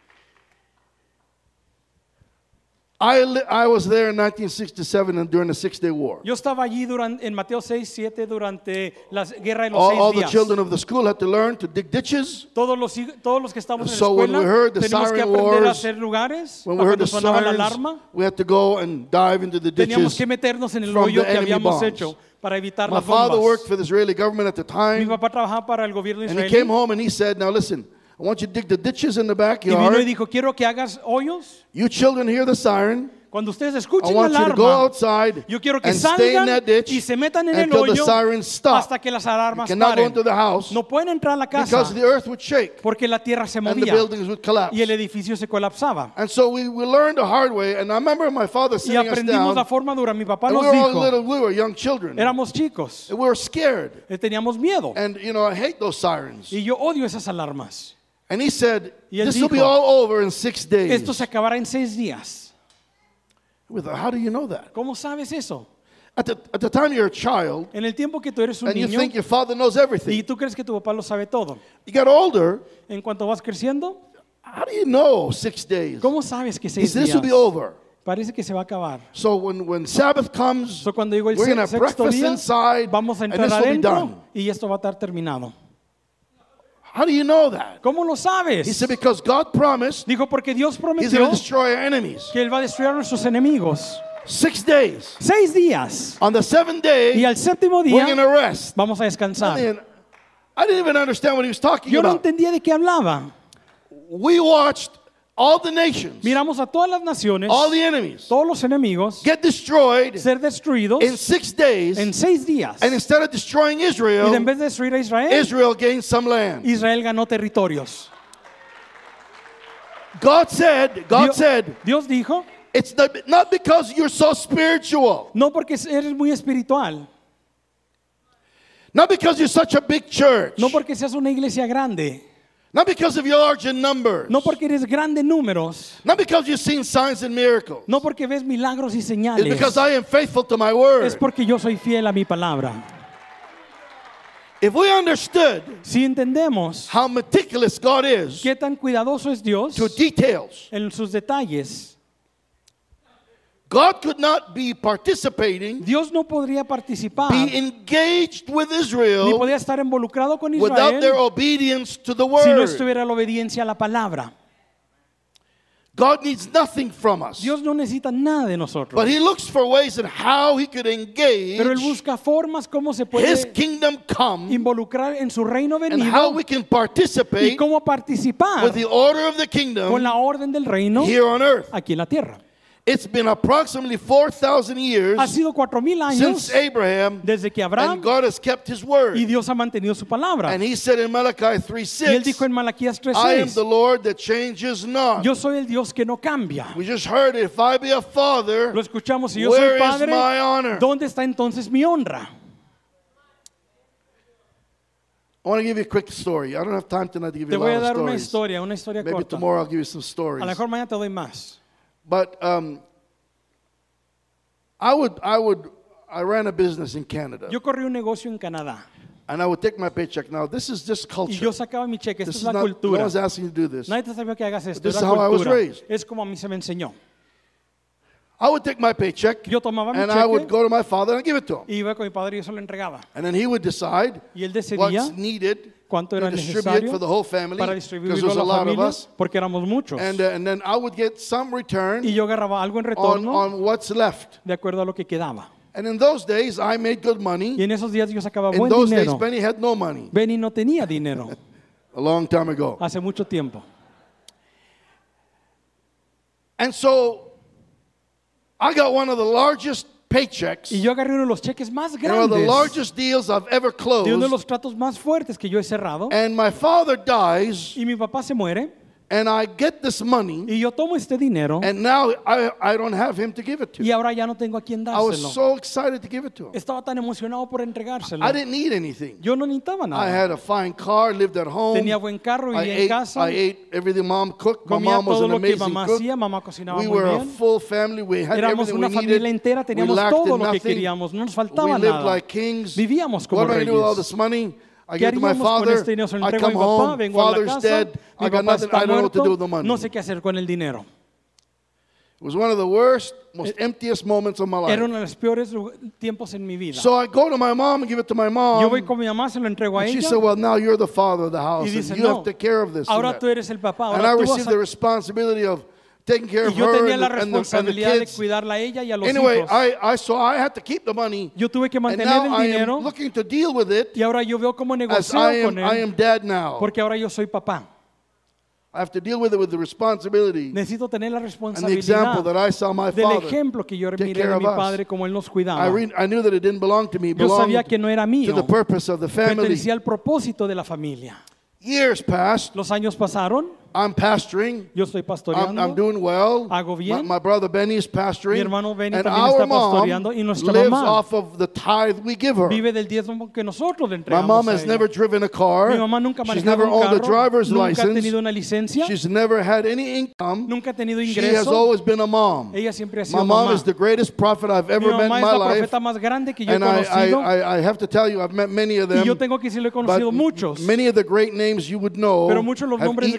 I, li- I was there in nineteen sixty-seven and during the Six-Day War. yo estaba allí durante, en Mateo seis, siete durante la guerra de los All, seis all the días. children of the school had to learn to dig ditches. Todos los, hij- todos los que estamos en So la when escuela we heard the tenemos que siren aprender a wars, hacer lugares. When we Para heard the cuando sonaba la sirens, alarma, we had to go and dive into the teníamos ditches. que meternos en el from hoyo the que enemy habíamos bombs. hecho para evitar My las father worked bombas. for the Israeli government at the Mi time, papá trabajaba para el gobierno and he came israelí home and he said, now listen, I want you to dig the ditches in the y vino y backyard. dijo, quiero que hagas hoyos. You children hear the siren. Cuando ustedes I escuchen la want you to go alarma, outside yo quiero que and stay in salgan that ditch y se metan en el until the hoyo sirens stop. hasta que las alarmas You cannot go paren. into the house No pueden entrar a la casa because the earth would shake porque la tierra se and the movía buildings would collapse. y el edificio se colapsaba. And so we, we learned the hard way. And I remember my father Y sitting us aprendimos down. la forma dura. Mi papá And we nos were all dijo, little, we were young children. éramos chicos, And we were scared. eh, teníamos miedo. And, you know, I hate those sirens. Y yo odio esas alarmas. And he said, Y él this will be dijo, all over in six days. Esto se acabará en seis días. We thought, how do you know that? ¿Cómo sabes eso? At the, at the time you're a child, En el tiempo que tú eres un and you niño think your father knows y everything. tú crees que tu papá lo sabe todo. You get older, En cuanto vas creciendo, how do you know six days? ¿cómo sabes que He seis said, this will be días? over. Parece que se va a acabar. So when, when Sabbath comes, So, cuando llegó el we're going to se- have sexto breakfast día, inside, vamos a and entrar this will be done. adentro y esto va a estar terminado. How do you know that? ¿Cómo lo He sabes? said, because God promised Dijo, porque Dios He's going prometió to destroy our enemies. que Él va a destruir a nuestros enemigos. Six days. Seis días. On the seventh day, Y al séptimo we're going día to rest. vamos a I descansar. mean, I didn't even understand what he was talking Yo no about. entendía de qué hablaba. We watched all the nations, Miramos a todas las naciones, all the enemies, todos los enemigos, get destroyed ser destruidos in six days. en seis días. And instead of destroying Y en Israel, vez de destruir a Israel, Israel gained some land. Israel ganó territorios. God said, God Dios, said, Dios dijo, it's not, not because you're so spiritual, no porque eres muy espiritual, not because you're such a big church, no porque seas una iglesia grande, not because of your large in numbers, no porque eres grande en números, not because you've seen signs and miracles. no porque ves milagros y It's señales, because I am faithful to my word. es porque yo soy fiel a mi palabra. If we understood Si entendemos how meticulous God is qué tan cuidadoso es Dios to details, en sus detalles, God could not be participating, Dios no podría participar be engaged with ni Israel podría estar involucrado con without their Israel obedience to the si no word. estuviera la obediencia a la palabra. God needs nothing from us. Dios no necesita nada de nosotros, But he looks for ways in how he could engage pero Él busca formas cómo se his puede kingdom come involucrar en su reino and how venido we can y participate cómo participar with the order of the con kingdom la orden del reino here on earth. aquí en la tierra. It's been approximately four thousand years Ha sido cuatro mil años since Abraham, desde que and Abraham God has kept his word. y Dios ha mantenido su palabra. And he said in Malachi three Y Él six, dijo en Malaquías tres I am seis, the Lord that changes not. yo soy el Dios que no cambia. We just heard it. If I be a father, Lo escuchamos, si yo where soy is padre, my honor? ¿dónde está entonces mi honra? I want to give you a quick story. I don't have time tonight to give Te you a voy a lot dar of una stories. historia, una historia Maybe corta. tomorrow I'll give you some A stories. lo mejor mañana te doy más. But um, I would, I would, I ran a business in Canada, Yo corrí un negocio en Canadá and I would take my paycheck. Now this is just y culture. yo sacaba mi cheque. Esta This es is la not, no cultura. one's asking you to do this. Nadie te sabía que hagas esto. This Es is la how I was cultura. raised. Es como a mí se me enseñó. I would take my paycheck, Yo tomaba mi and I would cheque go to my father and give it to him, y iba con mi padre y yo se lo entregaba. and then he would decide Y él decidía what's needed cuánto to era distribute necesario for the whole family, para because distribuirlo there's a a la lot of familia, us, porque éramos muchos. and uh, and then I would get some return Y yo agarraba algo en on retorno on what's left. de acuerdo a lo que quedaba. And in those days, I made good Y money. en esos días yo sacaba In buen those days, dinero. Benny had no money. Benny no tenía dinero A long time ago. hace mucho tiempo. And so I got one of the largest paychecks Y yo agarré uno de los cheques más and one of the grandes, largest deals I've ever de uno de closed. los tratos más fuertes que yo he cerrado. And my father dies, Y mi papá se muere and I get this money, y yo tomo este dinero and now I, I don't have him to give it to. y ahora ya no tengo a quién I was dárselo. so excited to give it to him. Estaba tan emocionado por entregárselo. I didn't need anything. Yo no necesitaba I nada. had a fine car, lived at home. Tenía buen carro, I vivía en ate, casa. I ate everything mom cooked. My Comía mom was todo an lo que amazing mamá cook. hacía. Mamá cocinaba We muy were a bien. full family. We had Éramos everything una we familia needed. entera. We Teníamos lacked todo in lo que nothing. queríamos. No nos We faltaba lived nada. like kings. Vivíamos como What am I going to do with all reyes. this money? I ¿Qué give it to my haríamos con father. este dinero? Se lo I entrego a come mi papá, home. vengo a la Father's casa. dead. Mi I got papá nothing. está I don't know what to do with the muerto. money. No sé qué hacer con el dinero. It was one of the worst, most emptiest moments of my Era life. uno de los peores lu- tiempos en mi vida. So I go to my mom and give it to my Yo voy mom. con mi mamá, se lo entrego a And she ella. said, well, now you're the father of the Y house. dice, And you no, have to take care of this. and ahora that." tú eres el papá. And I Ahora tú vas received the a... responsibility of taking care Y of yo her tenía and la the, and the, and the responsabilidad de kids. cuidarla a ella y a los Anyway, hijos. I, I so I had to keep the money. Yo tuve que And mantener now el I dinero am looking to deal with it y ahora yo veo cómo as negocio I am, con I él am dad now. porque ahora yo soy papá. I have to deal with it with the responsibility Necesito tener la and the example that responsabilidad I saw my del father ejemplo que yo take miré care de of mi us. padre como él nos I, cuidaba. re- I knew that it didn't belong to me. It Yo belonged sabía que no era to mío, the purpose of the family. pertenecía al propósito de la familia. Years passed. Los años pasaron, I'm pastoring. yo estoy I'm, pastoreando, I'm doing well. Hago My, bien. my brother Benny is pastoring. Mi hermano Benny and también our está pastoreando, y mom nuestra lives mamá off of the tithe we give her. vive del diezmo que nosotros le My entregamos mom a has ella. never driven a car. Mi mamá nunca ha She's manejado never un owned a carro, driver's nunca ha license. tenido una licencia, She's never had any income. nunca ha tenido She has ingreso. always been a mom. Ella siempre ha My sido mom mamá. is the greatest prophet I've Mi ever met in mamá es my la life. profeta más grande que yo he And I, conocido. I, I, I have to tell you, I've met many of Y them. yo tengo que decirle, he But conocido muchos. many of the great names you would know Pero muchos de los have nombres eaten at her grandes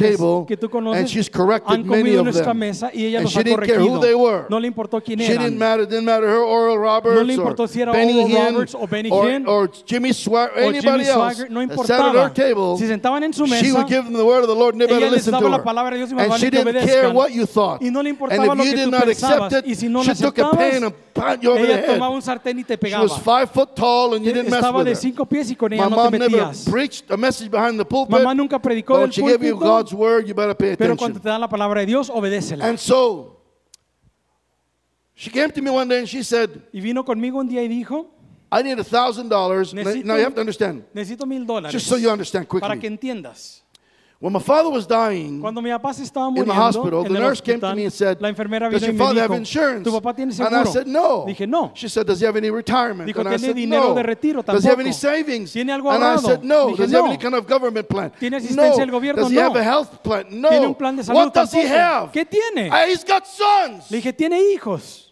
table, que tú and conoces she's corrected han many comido en of nuestra them. mesa y ella And los she ha didn't care who corregido. they were. No le importó quién She didn't eran. matter, didn't matter her Oral Roberts No le importó or si era Benny Oral Hinn Roberts o Benny or, Hinn or Jimmy Swagger, o anybody Jimmy else Swaggart, no that sat at her importaba. table. Si sentaban en su She mesa, would give them the word of the Lord and they better ella les listen daba to la her. palabra de Dios y más And vale she que didn't care obedezcan. what you thought. Y no le And importaba if lo you que did tú not accept pensabas. Y it, si no she lo took a aceptabas, pen and pat you over the ella tomaba head. un sartén y te She was pegaba. five foot tall and you didn't mess Estaba with de her. cinco pies y con My ella no mom te never metías. preached a message behind the pulpit. Mamá nunca predicó But del when she gave you púlpito, God's word, you better pay pero cuando attention. te da la palabra de Dios, obedécela. And so, she came to me one day and she said, Y vino conmigo un día y dijo, I need a thousand dollars. Necesito- Now you have to understand, necesito mil dólares just so you understand para que quickly. entiendas. When my father was dying Cuando mi papá se estaba in the muriendo hospital, en the el nurse came to hospital, me and said, la enfermera does vino y your me father have dijo, insurance? ¿tu papá tiene And I seguro? said, no. Dije, no. She said, does he have any retirement? Dijo, And I ¿tiene said, dinero no. de retiro? Does he have any Tampoco. savings? ¿Tiene algo And I ahorrado? said, no. Dije, Does he have no. any kind of government plan? ¿Tiene asistencia No. del gobierno? Does he No. have a health plan? No. ¿Tiene un plan de salud? What does he Tampoco. have? ¿Qué tiene? Ah, he's got sons. Le dije, tiene hijos.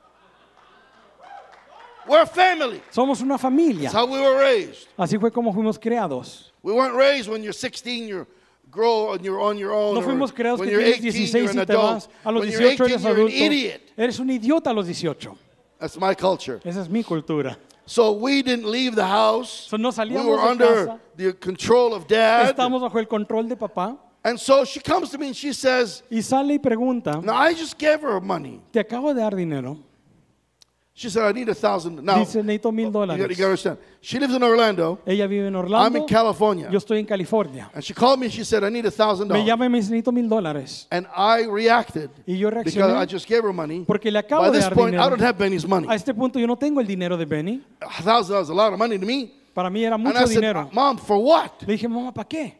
We're a family. Somos una familia. That's how we were raised. Así fue como fuimos creados. We weren't raised when you're sixteen, you're grow and you're on your own. No or fuimos creados when que you're tienes eighteen, dieciséis you're an y te adult. vas. A los When you're dieciocho eighteen, eres you're an adulto. idiot. Eres un idiota a los dieciocho. That's my culture. Esa es mi cultura. So we didn't leave the house. So no We salíamos were de under casa. the control of dad. Estamos bajo el control de papá. And so she comes to me and she says, Y sale y pregunta, now I just gave her money. te acabo de dar dinero. She said, I need a thousand. Now, Dice, necesito mil you got dólares. to understand. She lives in Orlando. Ella vive en I'm Orlando. in California. Yo estoy en California. And she called me and she said, I need a thousand Me dollars. llama y me dice, necesito mil dólares. And I reacted Y yo because reaccioné I just gave her money. porque le acabo By de this dar point, I dinero. don't have Benny's money. A este punto yo no tengo el dinero de Benny. A thousand dollars is a lot of money to me. Para mí era And I mucho said, dinero. Mom, for what? Le dije, mamá, ¿para qué?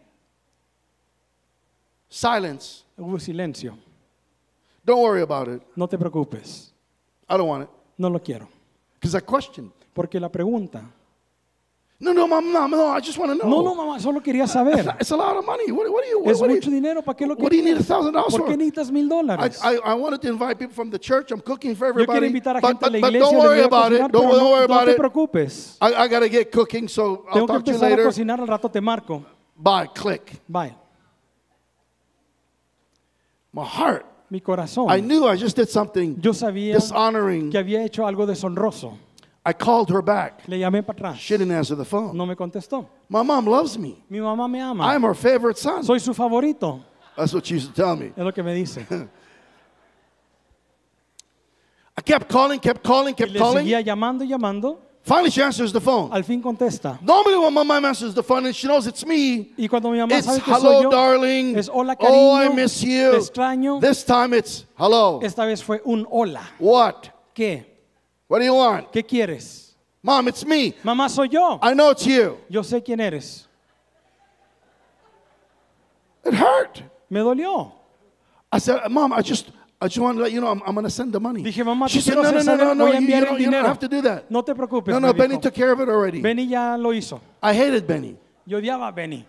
Silence. Hubo silencio. Don't worry about it. No te preocupes. I don't want it. No lo quiero. Because I questioned. Porque la pregunta. No, no, Mom, no, no, I just want to know. No, no, mamá, solo quería saber. It's a lot of money. What, what do you, what, Es what do mucho you, dinero. ¿Para qué lo what do you need a quieres? thousand dollars ¿Por qué for? necesitas mil I, dólares? I, I wanted to invite people from the church. I'm cooking for Yo quiero everybody. invitar a But, gente a but, la but iglesia. don't les worry voy a about it. cocinar, Don't, pero don't worry no, no about te it. preocupes. I, I got to get cooking, so I'll Tengo que talk to you empezar a later. cocinar. Al rato te marco. Bye. Click. Bye. My heart. Mi corazón. I knew I just did something Yo sabía dishonoring. que había hecho algo deshonroso. I called her back. Le llamé para atrás. She didn't answer the phone. No me contestó. My mom loves me. Mi mamá me ama. I'm her favorite son. Soy su favorito. That's what she used to tell me. Es lo que me dice. I kept calling, kept calling, Y kept le calling. seguía llamando y llamando. Finally, she answers the phone. Al fin contesta. Normally, when my mom answers the phone and she knows it's me, Y cuando mi mamá it's sabe que hello, soy yo, darling. es hola, Oh, I cariño. miss you. Te extraño. This time it's hello. Esta vez fue un hola. What? ¿Qué? What do you want? ¿Qué quieres? Mom, it's me. Mamá, soy yo. I know it's you. Yo sé quién eres. It hurt. Me dolió. I said, Mom, I just, I just want to let you know I'm, I'm going to send the money. Dije, mamá, She te said, quiero no, no, hacer no, no, saber, no, voy a you, you, enviar el don't, you don't dinero. have to do that. No te preocupes, No, me no, dijo. Benny took care of it already. Benny ya lo hizo. I hated Benny. Yo odiaba a Benny.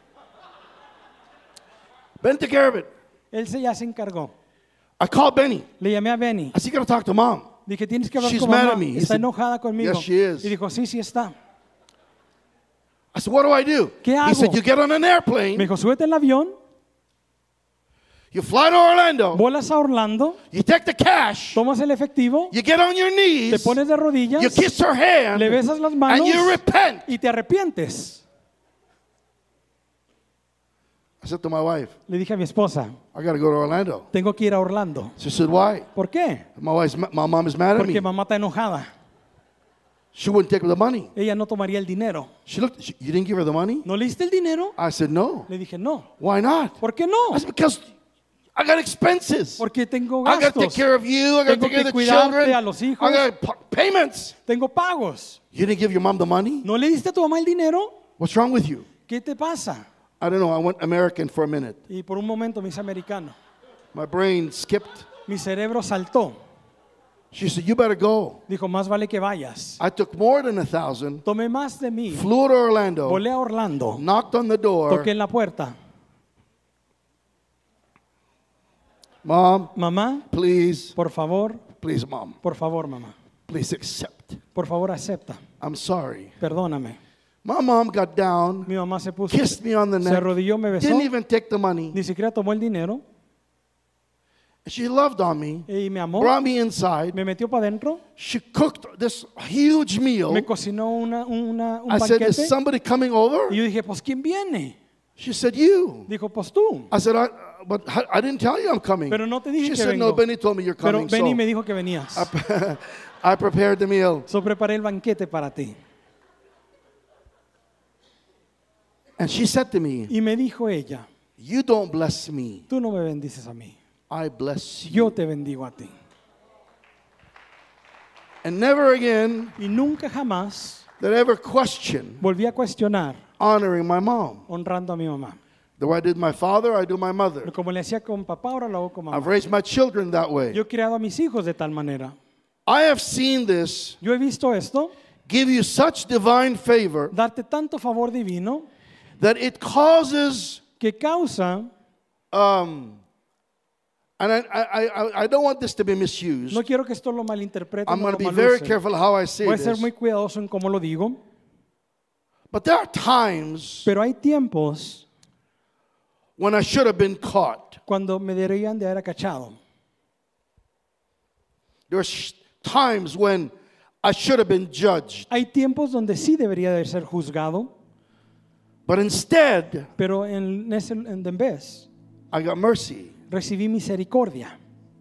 Benny took care of it. Él se ya se encargó. I called Benny. Le llamé a Benny. I said, you got to talk to Mom. Dije, tienes que hablar She's con mad mamá. at me. He Está said, enojada conmigo. yes, she is. Y dijo, sí, sí está. I said, what do I do? ¿Qué He hago? said, you get on an Me airplane, dijo, súbete al avión, you fly to Orlando, vuelas a Orlando, you take the cash, tomas el efectivo, you get on your te knees, pones de rodillas, you kiss her hand, le besas las manos and you repent. y te arrepientes. I said to my wife, Le dije a mi esposa, I got to go to Orlando. tengo que ir a Orlando. She said, why? ¿Por qué? My wife's, my mom is mad at Porque me. mamá está enojada. She wouldn't take the money. Ella no tomaría el dinero. She looked, she, you didn't give her the money? ¿No le diste el dinero? I said, no. Le dije, no. Why not? ¿Por qué no? I said, because I got expenses. Porque tengo I got to take gastos, care of you. I got to Tengo take care of que the cuidarte children. a los hijos. I got p- payments. tengo pagos. You didn't give your mom the money? ¿No le diste a tu mamá el dinero? What's wrong with you? ¿Qué te pasa? I don't know. I went American for a minute. Y por un momento me hice americano. My brain skipped. Mi cerebro saltó. She said, you better go. Dijo, más vale que vayas. I took more than a thousand, Tomé más de mí. flew to Orlando, Volé a Orlando. knocked on the door. Toqué en la puerta. Mom, Mamá, please, por favor, please, Mom, por favor, mamá. please accept. Por favor, acepta. I'm sorry. Perdóname. My mom got down, Mi mamá se puso, kissed me on the se neck, arrodilló, me besó, didn't even take the money. ni siquiera tomó el dinero She loved on me, y me amó, brought me inside. me metió para adentro, She cooked this huge meal. me cocinó una, una, un I said, is banquete somebody coming over? y yo dije, pues ¿quién viene? She said, you. Dijo, pues tú. I said, I, but I didn't tell you I'm coming. Pero no te dije She que said, no, vengo. Benny told me you're Pero coming. Benny So me dijo que venías. I prepared the meal. So preparé el banquete para ti. And she said to me, Y me dijo ella, you don't bless me. tú no me bendices a mí, I bless you. yo te bendigo a ti. And never again Y nunca jamás did I ever question volví a cuestionar honoring my mom. honrando a mi mamá. The way I did my father, I do my mother. Pero como le hacía con papá, ahora lo hago con I've mamá. raised my children that way. Yo he criado a mis hijos de tal manera. I have seen this Yo he visto esto, give you such divine favor darte tanto favor divino, that it causes, que causa, um, and I, I, I, I don't want this to be misused. no quiero que esto lo malinterpreten I'm o going to lo be very malusen. careful how I say Voy a ser this. muy cuidadoso en cómo lo digo, But there are times pero hay tiempos when I should have been caught. cuando me deberían de haber cachado. There's times when I should have been judged. Hay tiempos donde sí debería de ser juzgado, But instead, pero en ese en en vez I got mercy. recibí misericordia.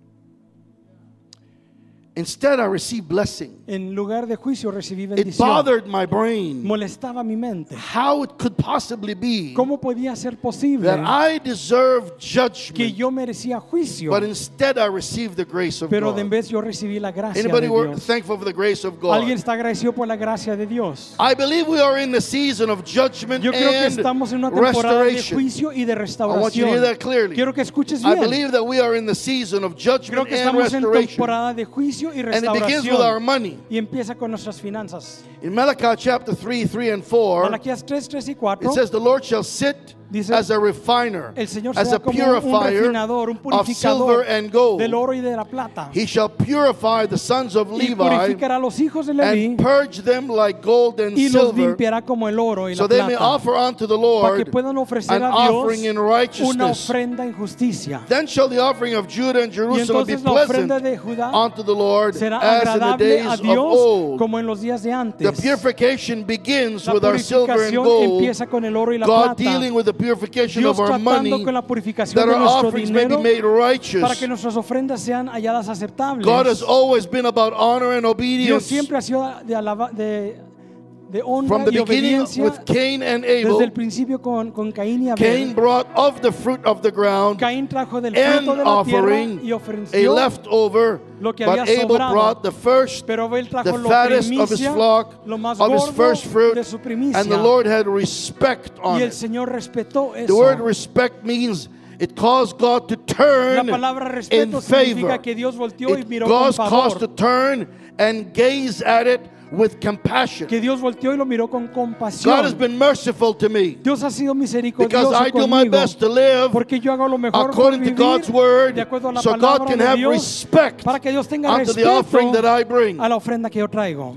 Instead, I received blessing. En lugar de juicio recibí It bendición. bothered my brain Molestaba mi mente. how it could possibly be ¿Cómo podía ser posible that I deserved que judgment, yo merecía juicio, but instead I received the grace of pero de en God. vez yo recibí la gracia de Anybody were Dios? thankful for the grace of ¿Alguien God? está agradecido por la gracia de Dios? I believe we are in the season of judgment Yo creo que and estamos en una temporada de restoration. juicio y de I want you to restauración. hear that clearly. Quiero que escuches I bien. believe that we are in the season of Creo judgment que and estamos en restoration. temporada de juicio y And it begins with our restauración. money. Y empieza con nuestras finanzas. In Malachi chapter three, three and four, Malaquías tres, tres y cuatro. it says, the Lord shall sit Dice, as a refiner, el Señor as será a como un, un purifier refinador, un of silver purificador and gold. del oro y de la plata. He shall purify the sons of Y Levi purificará a los hijos de Leví and purge them like gold and y los silver, limpiará como el oro y so la they may plata, offer unto the para que Lord puedan ofrecer an a Dios offering in una righteousness. ofrenda en justicia. Then shall the offering of Judah and Y Jerusalem be entonces la pleasant ofrenda de Judá unto the Lord será as in the agradable days a of Dios old. como en los días de The antes. purification begins La with our silver and purificación gold, empieza con el oro y la God plata. dealing with the purification Dios of our tratando money, con la purificación that de our nuestro offerings may be dinero made righteous. para que nuestras ofrendas sean halladas aceptables. God has always been about honor and Dios obedience. siempre ha sido de, alaba- de, de honra From the y beginning obediencia with Cain and desde el Abel, principio con, con Caín y Cain Abel. brought of the fruit of the ground Caín trajo del an fruto de la tierra offering, y a ofreció, leftover, lo que but había Abel sobrado. brought the first, pero Abel trajo the lo fattest of his primicia, flock, lo más of his gordo first fruit, de su primicia. and the Lord had respect on Y el it. Señor respetó The eso. word respect means it caused God to La turn palabra in respeto favor. significa que Dios volteó y It miró con caused caused to favor. turn and gaze at it with compassion. Que Dios volteó y lo miró con God has compasión. been merciful to me Dios ha sido because misericordioso I do my conmigo. best to live Porque yo hago lo mejor por according to vivir God's word, de acuerdo a la so God palabra can de have Dios, respect para que Dios tenga unto the offering that respeto I bring. a la ofrenda que yo traigo.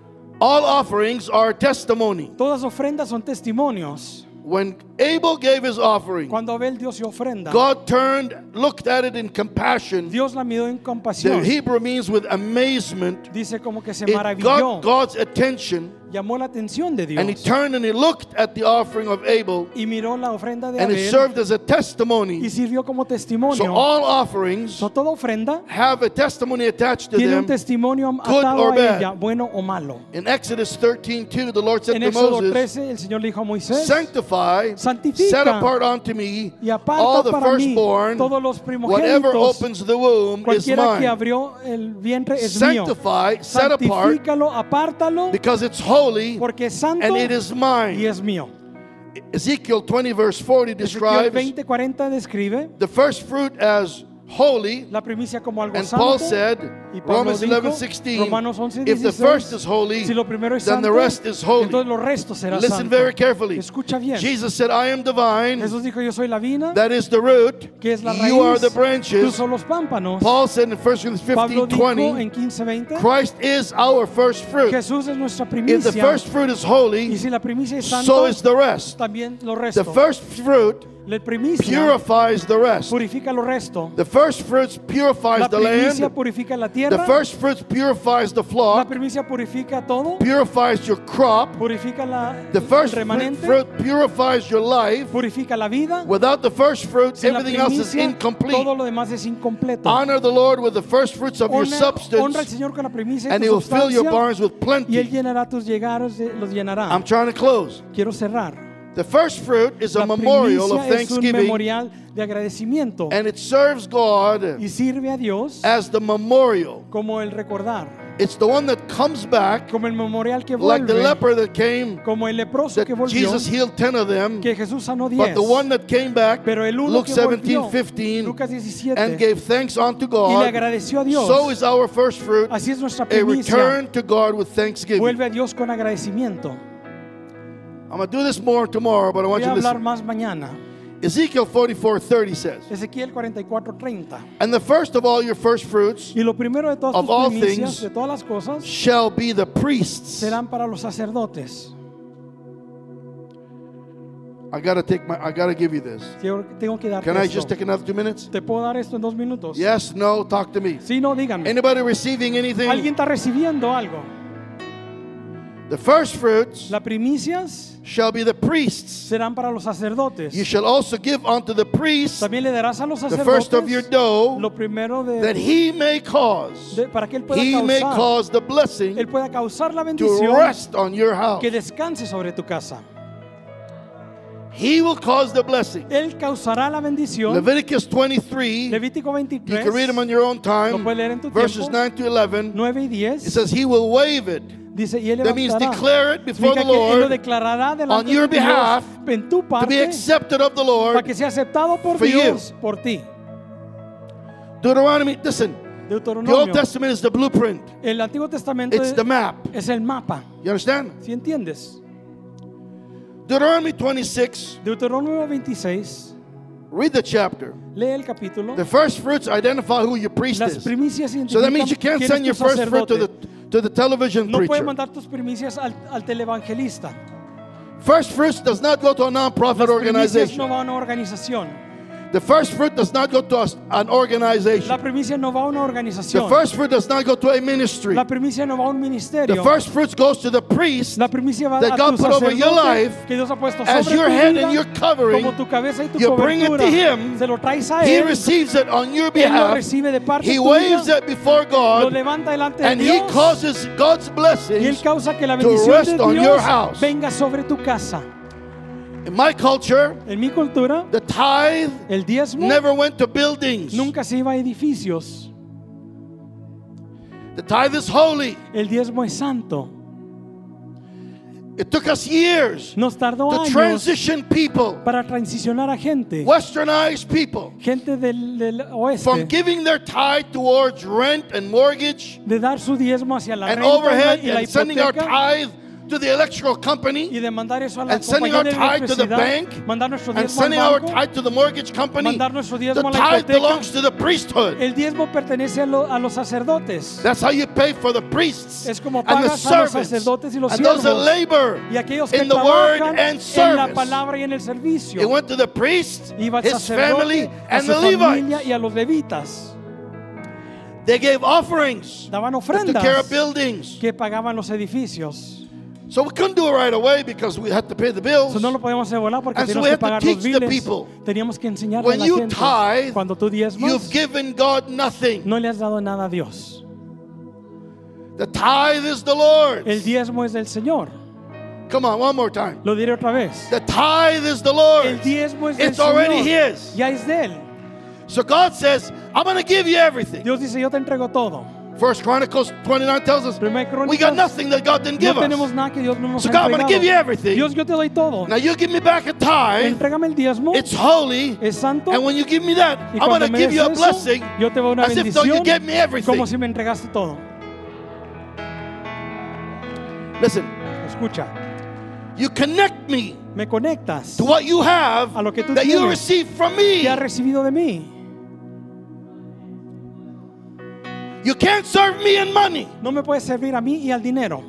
All offerings are testimony. Todas ofrendas son testimonios. When Abel gave his offering, Cuando Abel dio su ofrenda, God turned, looked at it in compassion. Dios la miró en The compasión. Hebrew means with amazement. Dice como que se It maravilló, got God's attention, llamó la atención de and he Dios turned and he looked at the offering of Abel, y miró la ofrenda de and it Abel served as a y testimony. sirvió como So testimonio. all offerings So, toda ofrenda have a testimony attached to tiene un them. testimonio good atado or a bad. ella, bueno o malo. In Exodus thirteen two, the Lord said En to Éxodo Moses, trece, el Señor le dijo a Moisés, sanctify, santifica set apart unto me y all aparta the para mí firstborn, todos los whatever primogénitos. opens the womb is Cualquiera que mine. abrió el vientre es mío. Sanctify, set apart, Santifícalo, apártalo, because it's holy porque es santo and it is y mine. es mío. Ezekiel twenty verse forty Ezequiel describes veinte cuarenta describe the first fruit as holy, la primicia como algo and Paul santo. said, Y Pablo Romans dijo, eleven sixteen, Romanos once if the dieciséis, first is holy, si lo primero es then the santo, rest is holy. entonces lo resto será Listen santo. very carefully. Escucha bien. Jesus said, I am the vine, Jesús dijo, yo soy la vina, that is the root, que es la raíz, you are the tú branches. son los pámpanos. Paul said in First Corinthians Pablo fifteen dijo twenty, en quince veinte, Christ is our first fruit. Jesús es nuestra If the primicia, first fruit is y holy, si la primicia es so santo, is the rest. también lo The resto. first fruit La primicia purifies the rest. purifica lo resto. The first fruits purifies La the primicia land. purifica la The tierra. first fruits purifies the La flock, primicia purifica todo. purifies your crop. Purifica la, The first el remanente. fruit purifies your life. Purifica la vida. Without the first fruit, Sin la everything else is primicia, incomplete. todo lo demás es incompleto. Honor the Lord with the first fruits of your Honra, honra al substance, Señor con la primicia and de He tu will fill your sustancia, barns with y Él plenty. llenará tus llegados, de- los llenará. I'm trying to close. Quiero cerrar. The first fruit is a La memorial of primicia es un thanksgiving, memorial de agradecimiento and it serves God y sirve a Dios as the memorial. como el recordar, It's the one that comes back, como el memorial que like the vuelve, leper that came, como el leproso que that volvió, Jesus healed ten of them, que Jesús sanó but diez, the one that came back, pero el uno Luke que seventeen volvió, fifteen, Lucas diecisiete, and gave thanks unto y le God, agradeció a Dios. so is our first fruit, Así es nuestra a primicia. return to God with thanksgiving. Vuelve a Dios con agradecimiento. I'm going to do this more tomorrow, but I want Voy you a to hablar listen. más mañana. Ezekiel forty-four thirty says, Ezequiel cuarenta y cuatro treinta. and the first of all your first fruits Y lo primero de todas of tus all primicias, things de todas las cosas, shall be the priests. serán para los sacerdotes. I got to take my, I got to give you this. Yo tengo que darte Can I esto. just take another two minutes? ¿Te puedo dar esto en dos minutos? Yes, no, talk to me. Sí, no, díganme. Anybody receiving anything? ¿Alguien está recibiendo algo? The first fruits Las primicias shall be the priests. serán para los sacerdotes. You shall also give unto the priest También le darás a los the first of your sacerdotes dough, lo primero de, that he may cause, de- para que él pueda he may causar, cause the blessing él pueda causar la to bendición rest on your house. que descanse sobre tu casa. He will cause the blessing. Él causará la bendición. Leviticus twenty-three, Levítico you veintitrés, can read them on your own lo time, puedes leer en tu verses tiempo, nine to eleven. nueve y It diez. says he will waive it. Dice, y él That means levantará. declare it before Significa the que él lo Lord declarará on delante your de Dios behalf en tu to be parte accepted of the para Lord. que sea aceptado por for you. Dios por ti. Deuteronomy, listen, the Old Deuteronomio. Testament is the blueprint. El Antiguo Testamento It's es, the map. es el mapa. You understand? ¿Sí entiendes? Deuteronomy twenty-six, Deuteronomio veintiséis. read the chapter. Lee el capítulo. The first fruits identify who your priest Las is. primicias So that means you identifican can't quién send your es tu first fruit to the, sacerdote. to the television No puedes preacher. mandar tus primicias al, al televangelista. First fruits does not go to a non-profit Las primicias organization. no va a una organización. The first fruit does not go to a- an organization. La primicia no va a una The organización. first fruit does not go to a ministry. La primicia no va a un The ministerio. first fruits goes to the priest La primicia va that a God tu put over your sacerdote life que Dios ha puesto as sobre your tu head vida, and your covering. como tu cabeza y tu You bring it to cobertura. him. Se lo traes a He él. receives it on your Él lo behalf. recibe de parte He tuya. waves it before Lo God, levanta delante de and He Dios. causes God's Y él blessings. causa que la to bendición rest de on your Dios house. venga sobre tu casa. In my culture, En mi cultura, the tithe el diezmo never went to buildings. nunca se iba a edificios. The tithe is holy. El diezmo es santo. It took us years Nos tardó to años transition people, para transicionar a gente, westernized people, gente del, del from oeste, giving their tithe towards rent and mortgage de dar su diezmo hacia la and renta overhead y la and sending our hipoteca tithe to the electrical company y de mandar eso a la and sending our compañía de tithe to the electricidad, bank mandar nuestro and diezmo al sending our banco. tithe to the mortgage company. Mandar nuestro The diezmo a la tithe hipoteca. belongs to the priesthood. El diezmo pertenece a, lo- a los sacerdotes. That's how you pay for the priests Es como and the pagas a los servants sacerdotes y los and those that siervos labor y aquellos que in the word trabajan and en la service. palabra y en el servicio. It went to the priest, Iba al his family, sacerdote, a and su the familia Levites. y a los levitas. They gave offerings Daban that took care of ofrendas buildings. que pagaban los edificios. So we couldn't do it right away because we had to pay the bills. Eso no lo podemos hacer volar porque And so teníamos we que have to pagar los teach the biles. people. Teníamos que enseñarle a When la you gente. tithe, Cuando tú diezmas, You've given God nothing. no le has dado nada a Dios. The tithe is the Lord's. El diezmo es del Señor. Come on, one more time. Lo diré otra vez. The tithe is the El Lord's. diezmo es del It's already Señor. His. Ya es de Él. So God says, I'm going to give you everything. Dios dice, yo te entrego todo. First Chronicles twenty-nine tells us Primera we got Crónicas, nothing that God didn't no give tenemos us. nada que Dios no nos So ha God, I'm going to give you entregado. everything. Dios, yo te doy todo. Now you give me back a tithe. Entrégame el diezmo. It's holy. Es santo. And when you give me that, Y I'm going cuando to me give des you a eso, blessing yo te doy una as if though you bendición gave me everything. como si me entregaste todo. Listen, Escucha, you connect me me conectas to what you have a lo que tú that you tienes, received from me. que has recibido de mí. You can't serve me in money. No me puedes servir a mí y al dinero.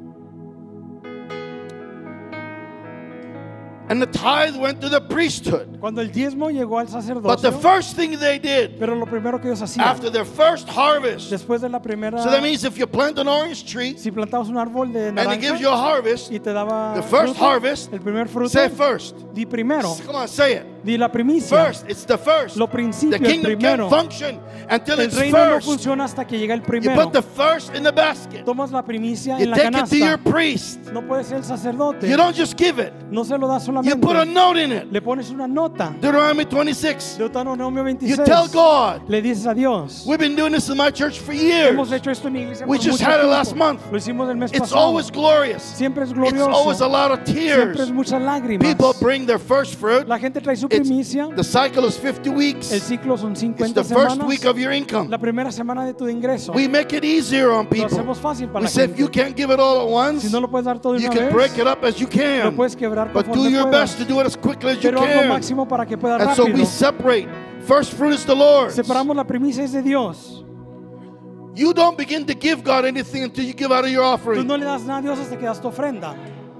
And the tithe went to the priesthood. Cuando el diezmo llegó al But the sacerdocio, first thing they did pero lo primero que ellos hacían, after their first harvest, después de la primera, so that means if you plant an orange tree si plantabas un árbol de and it gives naranja you a harvest, y te daba the first fruto, harvest, el primer fruto, say first. di primero, Come on, say it. di la primicia. First, it's the first. Lo The principio, el kingdom primero. can't function until El it's reino no first. funciona hasta que llega el You primero. put the first in the basket. Tomas la primicia You en la take it to your canasta. priest. No puede ser el sacerdote. You don't just give it. No se lo das You solamente. put a note in it. Le pones una nota. Deuteronomy twenty-six. Deuteronomio You veintiséis. tell God, Le dices a Dios. we've been doing this in my church for years. Hemos hecho esto en mi iglesia We por just mucho had it tiempo. last month. Lo hicimos el mes It's pasado. always glorious. Siempre es It's glorioso. always a lot of Siempre es tears. muchas lágrimas. People bring their first fruit. La gente trae su It's, primicia. the cycle is fifty El weeks. ciclo son It's cincuenta the first semanas. week of your income. La primera semana de tu ingreso. We make it easier on Lo people. hacemos fácil para We la say if gente. you can't give it all at once, Si no lo puedes dar todo de you una can vez, break it up as you lo can. puedes quebrar But do conforme your puedas. best to do it as quickly as you Pero haz lo can. máximo para que pueda And so we rápido. separate. First fruit is the Lord's. Separamos la primicia es de Dios. You don't begin to give God anything until you give out of your Tú offering. no le das nada a Dios hasta que das tu ofrenda.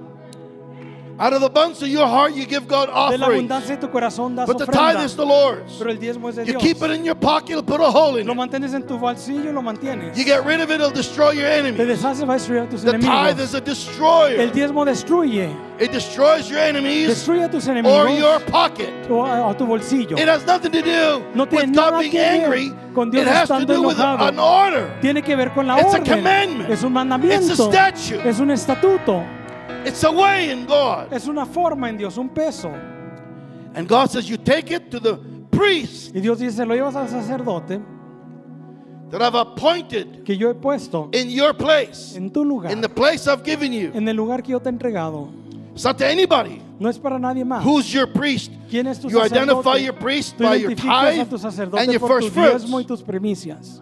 Out of the abundance of your heart, you give God De la offerings. abundancia de tu corazón das But the ofrenda. tithe is the Lord's. Pero el diezmo es de You Dios. keep it in your pocket, it'll put a hole in Lo it. mantienes en tu bolsillo y lo mantienes. You get rid of it, it'll destroy your Te enemies. deshaces, va a destruir a tus The tithe enemigos. is a destroyer. El diezmo destruye. It destroys your enemies Destruye a tus or enemigos your pocket. o a, a tu bolsillo. It has nothing to do No tiene with God nada being que ver angry. con Dios It has to estando do with enojado. an order. Tiene que ver con la It's a orden. commandment. Es un mandamiento. It's a statute. Es un estatuto. It's a way in God. Es una forma en Dios, un peso. And God says, you take it to the priest Y Dios dice, lo llevas al sacerdote that I've appointed que yo he puesto in your place, en tu lugar, in the place I've given you. en el lugar que yo te he entregado. It's not to anybody. No es para nadie más. Who's your priest? ¿Quién es tu You identify sacerdote? your priest Tú by your identificas a tithe tu sacerdote and your por first tu diezmo y fruits. tus primicias.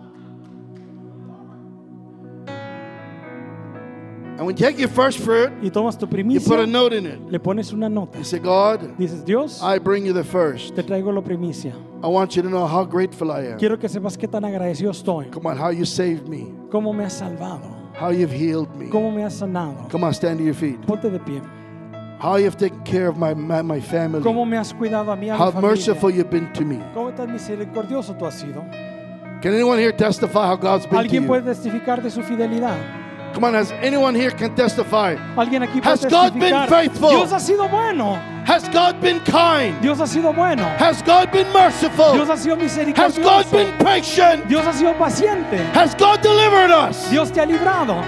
And when you take your first fruit, Y tomas tu you primicia, put a note in it. le pones una nota. You say, God, Dices, Dios, I bring you the first. te traigo la primicia. I want you to know how grateful I am. Quiero que sepas qué tan agradecido estoy. Come on, how you saved me, Cómo me has salvado. how you've healed me. Cómo me has sanado. Come on, stand to your feet. Ponte de pie. How you've taken care of my, my, my family. Cómo me has cuidado a mí, a mi How familia. merciful you've been to me. Cómo tan misericordioso tú has sido. Can anyone here testify how God's been to Alguien you? puede testificar de su fidelidad. Come on, has anyone here can testify? Alguien aquí Has puede God been testificar. faithful? Dios ha sido bueno. Has God been kind? Dios ha sido bueno. Has God been merciful? Dios ha sido Has God misericordioso. been patient? Dios ha sido paciente. Has God delivered us? Dios te ha librado.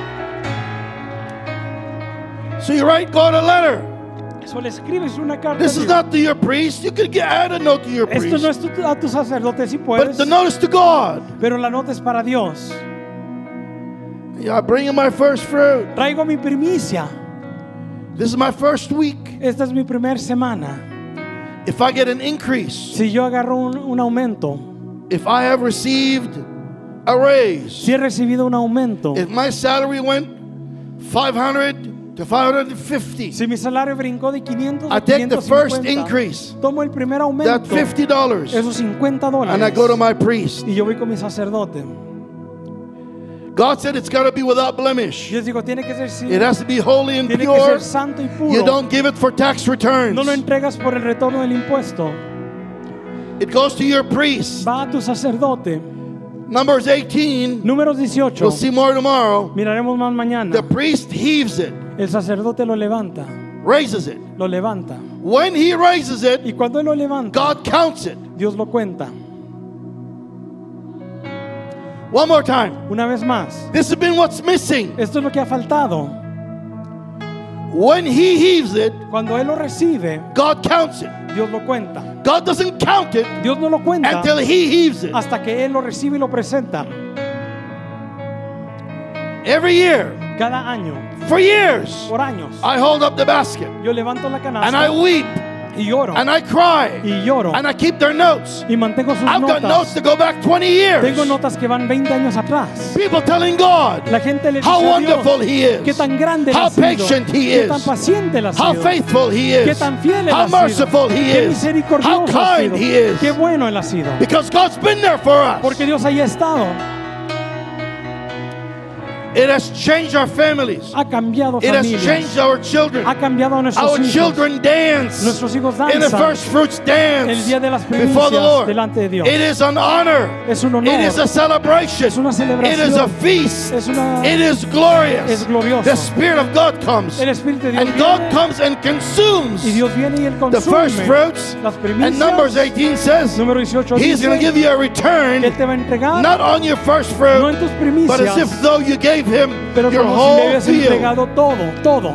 So you write God a letter. Eso le escribes una carta. This a is Dios. not to your priest. You could get, add a note to your Esto no priest. es tu- a tu sacerdote si But puedes, the note is to God. pero la nota es para Dios. Yeah, I bring you my first fruit. Traigo mi primicia. This is my first week. Esta es mi primera semana. If I get an increase, Si yo agarro un, un aumento, if I have received a raise, si he recibido un aumento, if my salary went five hundred to five hundred fifty, si mi salario brincó de quinientos I a take the quinientos first cincuenta, increase, tomo el primer that aumento, fifty dollars, esos cincuenta and I go to dólares, my priest. y yo voy con mi sacerdote. God said it's got to be without blemish. Yo digo, tiene que ser sin- It has to be holy and tiene que pure. ser santo y puro. You don't give it for tax returns. No lo entregas por el retorno del impuesto. It goes to your priest. Va a tu sacerdote. Numbers eighteen. Números dieciocho. We'll see more tomorrow. Miraremos más mañana. The priest heaves it, El sacerdote lo levanta. raises it. Lo levanta. When he raises it, Y cuando él lo levanta, God counts it. Dios lo cuenta. One more time. Una vez más. This has been what's missing. Esto es lo que ha faltado. When he heaves it, Cuando él lo recibe, God counts it. Dios lo cuenta. God doesn't count it Dios no lo cuenta until he heaves it. hasta que él lo recibe y lo presenta. Every year, Cada año, for years, por años, I hold up the basket yo levanto la and I canasta weep y lloro and I cry y lloro and I keep their notes. y mantengo sus I've got notes notas. to go back twenty years. Tengo notas que van veinte años atrás. People telling God La gente le dice how a Dios wonderful He is, qué tan grande él how ha sido, patient He qué tan is, paciente él ha how sido, faithful He qué is, tan fiel él how ha sido, merciful He qué is, how misericordioso ha kind sido, He is. qué bueno él ha sido. Because God's been there for us. Porque Dios ahí ha estado. It has changed our families. Ha cambiado It has familias. changed our children. Ha cambiado a nuestros Our hijos. children dance Nuestros hijos in the danzan first fruits el dance día de las before the primicias Lord. delante de Dios. It is an honor. Es un honor. It is a celebration. Es una It celebración. is a feast. Es una- It is glorious. Es glorioso. The Spirit of God comes. El Espíritu de Dios And God viene comes and consumes y Dios viene y él the first consume fruits. las And primicias. Numbers eighteen says Número dieciocho He's going to dice give you a que return, él te va a entregar not on your first no fruit, en tus but as primicias, if though you gave Him pero your como si le whole hubieras field. entregado todo, todo.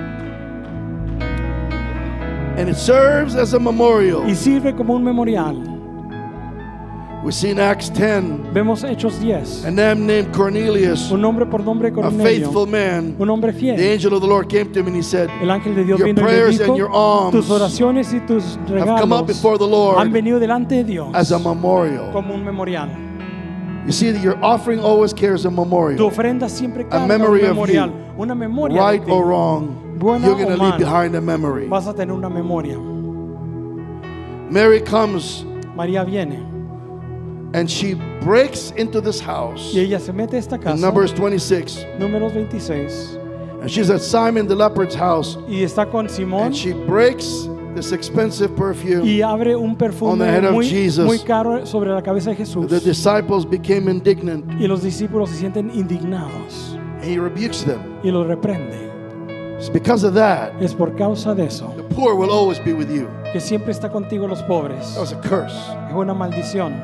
And it serves as a memorial. Y sirve como un memorial. We see in Acts ten Vemos Hechos diez. a man named Cornelius, Un hombre por nombre a Cornelio, faithful man. un hombre The fiel. angel of the Lord came to him and he said, El ángel de Dios Your vino y le prayers dijo, and your alms tus oraciones y tus have come up regalos before the Lord han venido delante de Dios as a memorial. como un memorial. You see that your offering always carries a Tu memorial. ofrenda siempre carga un memory of memorial, you. una memoria Right de ti. or wrong, Buena you're going to o leave mala, behind a memory. vas a tener una memoria. Mary comes María viene and she breaks into this house y ella se mete a esta in casa, Numbers twenty-six. números veintiséis, And she's at Simon the leopard's house y está con Simón and she breaks this expensive perfume. y abre un On perfume the head of muy, Jesus. muy caro sobre la cabeza de Jesús. The disciples became indignant Y los discípulos se sienten indignados and he rebukes them. y los reprende. It's because of that, Es por causa de eso the poor will always be with you. que siempre está contigo los pobres. That was a curse. Es una maldición.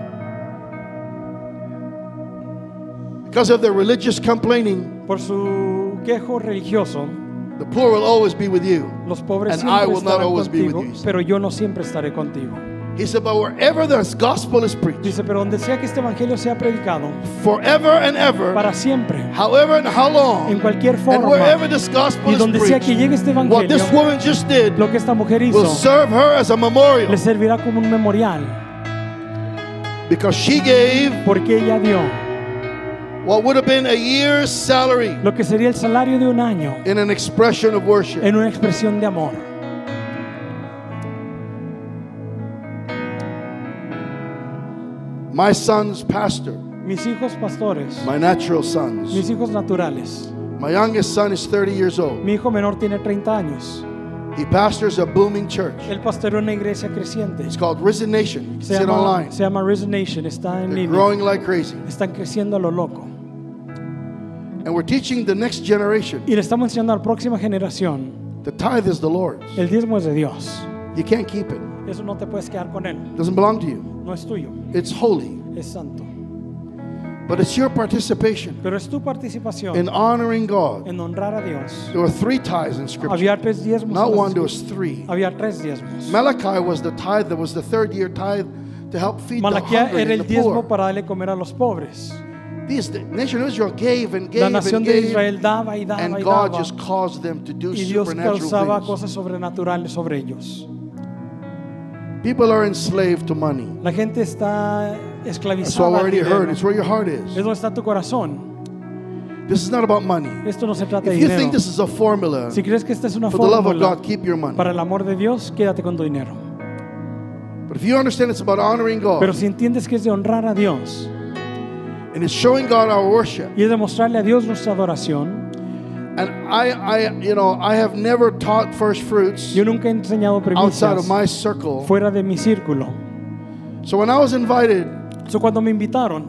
Because of their religious complaining, Por su quejo religioso, the poor will always be with you. los pobres And I siempre will not estarán always be with contigo, you. pero yo no siempre estaré contigo. He said, but wherever this gospel is preached, Dice, pero donde sea que este evangelio sea predicado, forever and ever, para siempre, however and how long, en cualquier and forma, wherever this gospel y is donde sea que preached, llegue este what this evangelio, woman just did lo que esta mujer will hizo serve her as a memorial le servirá como un memorial, because she gave porque ella dio what would have been a year's salary lo que sería el salario de un año in an expression of worship. en una expresión de amor. My son's pastor, Mis hijos pastores, my natural sons. mis hijos naturales. My youngest son is thirty years old. Mi hijo menor tiene treinta años. He pastors a booming church. Él pastorea una iglesia creciente. It's called Risen Nation. You can Se see it llama, online. se llama Risen Nation. Está en They're línea. growing like crazy. Están creciendo a lo loco. And we're teaching the next generation. Y le estamos enseñando a la próxima generación. The tithe is the Lord's. El diezmo es de Dios. You can't keep it. Eso no te puedes quedar con él. It doesn't belong to you. No es tuyo. It's holy. Es santo. But it's your participation Pero es tu participación in honoring God. en honrar a Dios. There were three tithes in Scripture. Había tres diezmos. Not en las one, there escrituras. was three. Había tres diezmos. Malachi was the tithe that was the third year tithe to help feed the Malaquía hungry era and el the diezmo poor. para darle comer a los pobres. These, the nation of Israel gave and La gave nación and de gave, Israel daba y daba and y God daba. just caused them to do Y Dios supernatural causaba things. cosas sobrenaturales sobre ellos. People are enslaved to money. La gente está That's esclavizada. all I al already dinero. heard. It's where your heart is. Es donde está tu corazón. This is not about money. Esto no se trata de If you dinero. think this is a formula Si crees que esta es una for the love of fórmula God, keep your money. para el amor de Dios, quédate con tu dinero. But if you understand it's about honoring God Pero si entiendes que es de honrar a Dios and it's showing God our worship, y es demostrarle a Dios nuestra adoración. and I, I, you know, I have never taught first fruits Yo nunca he enseñado outside of primicias my circle. fuera de mi círculo. So when I was invited, So, cuando me invitaron,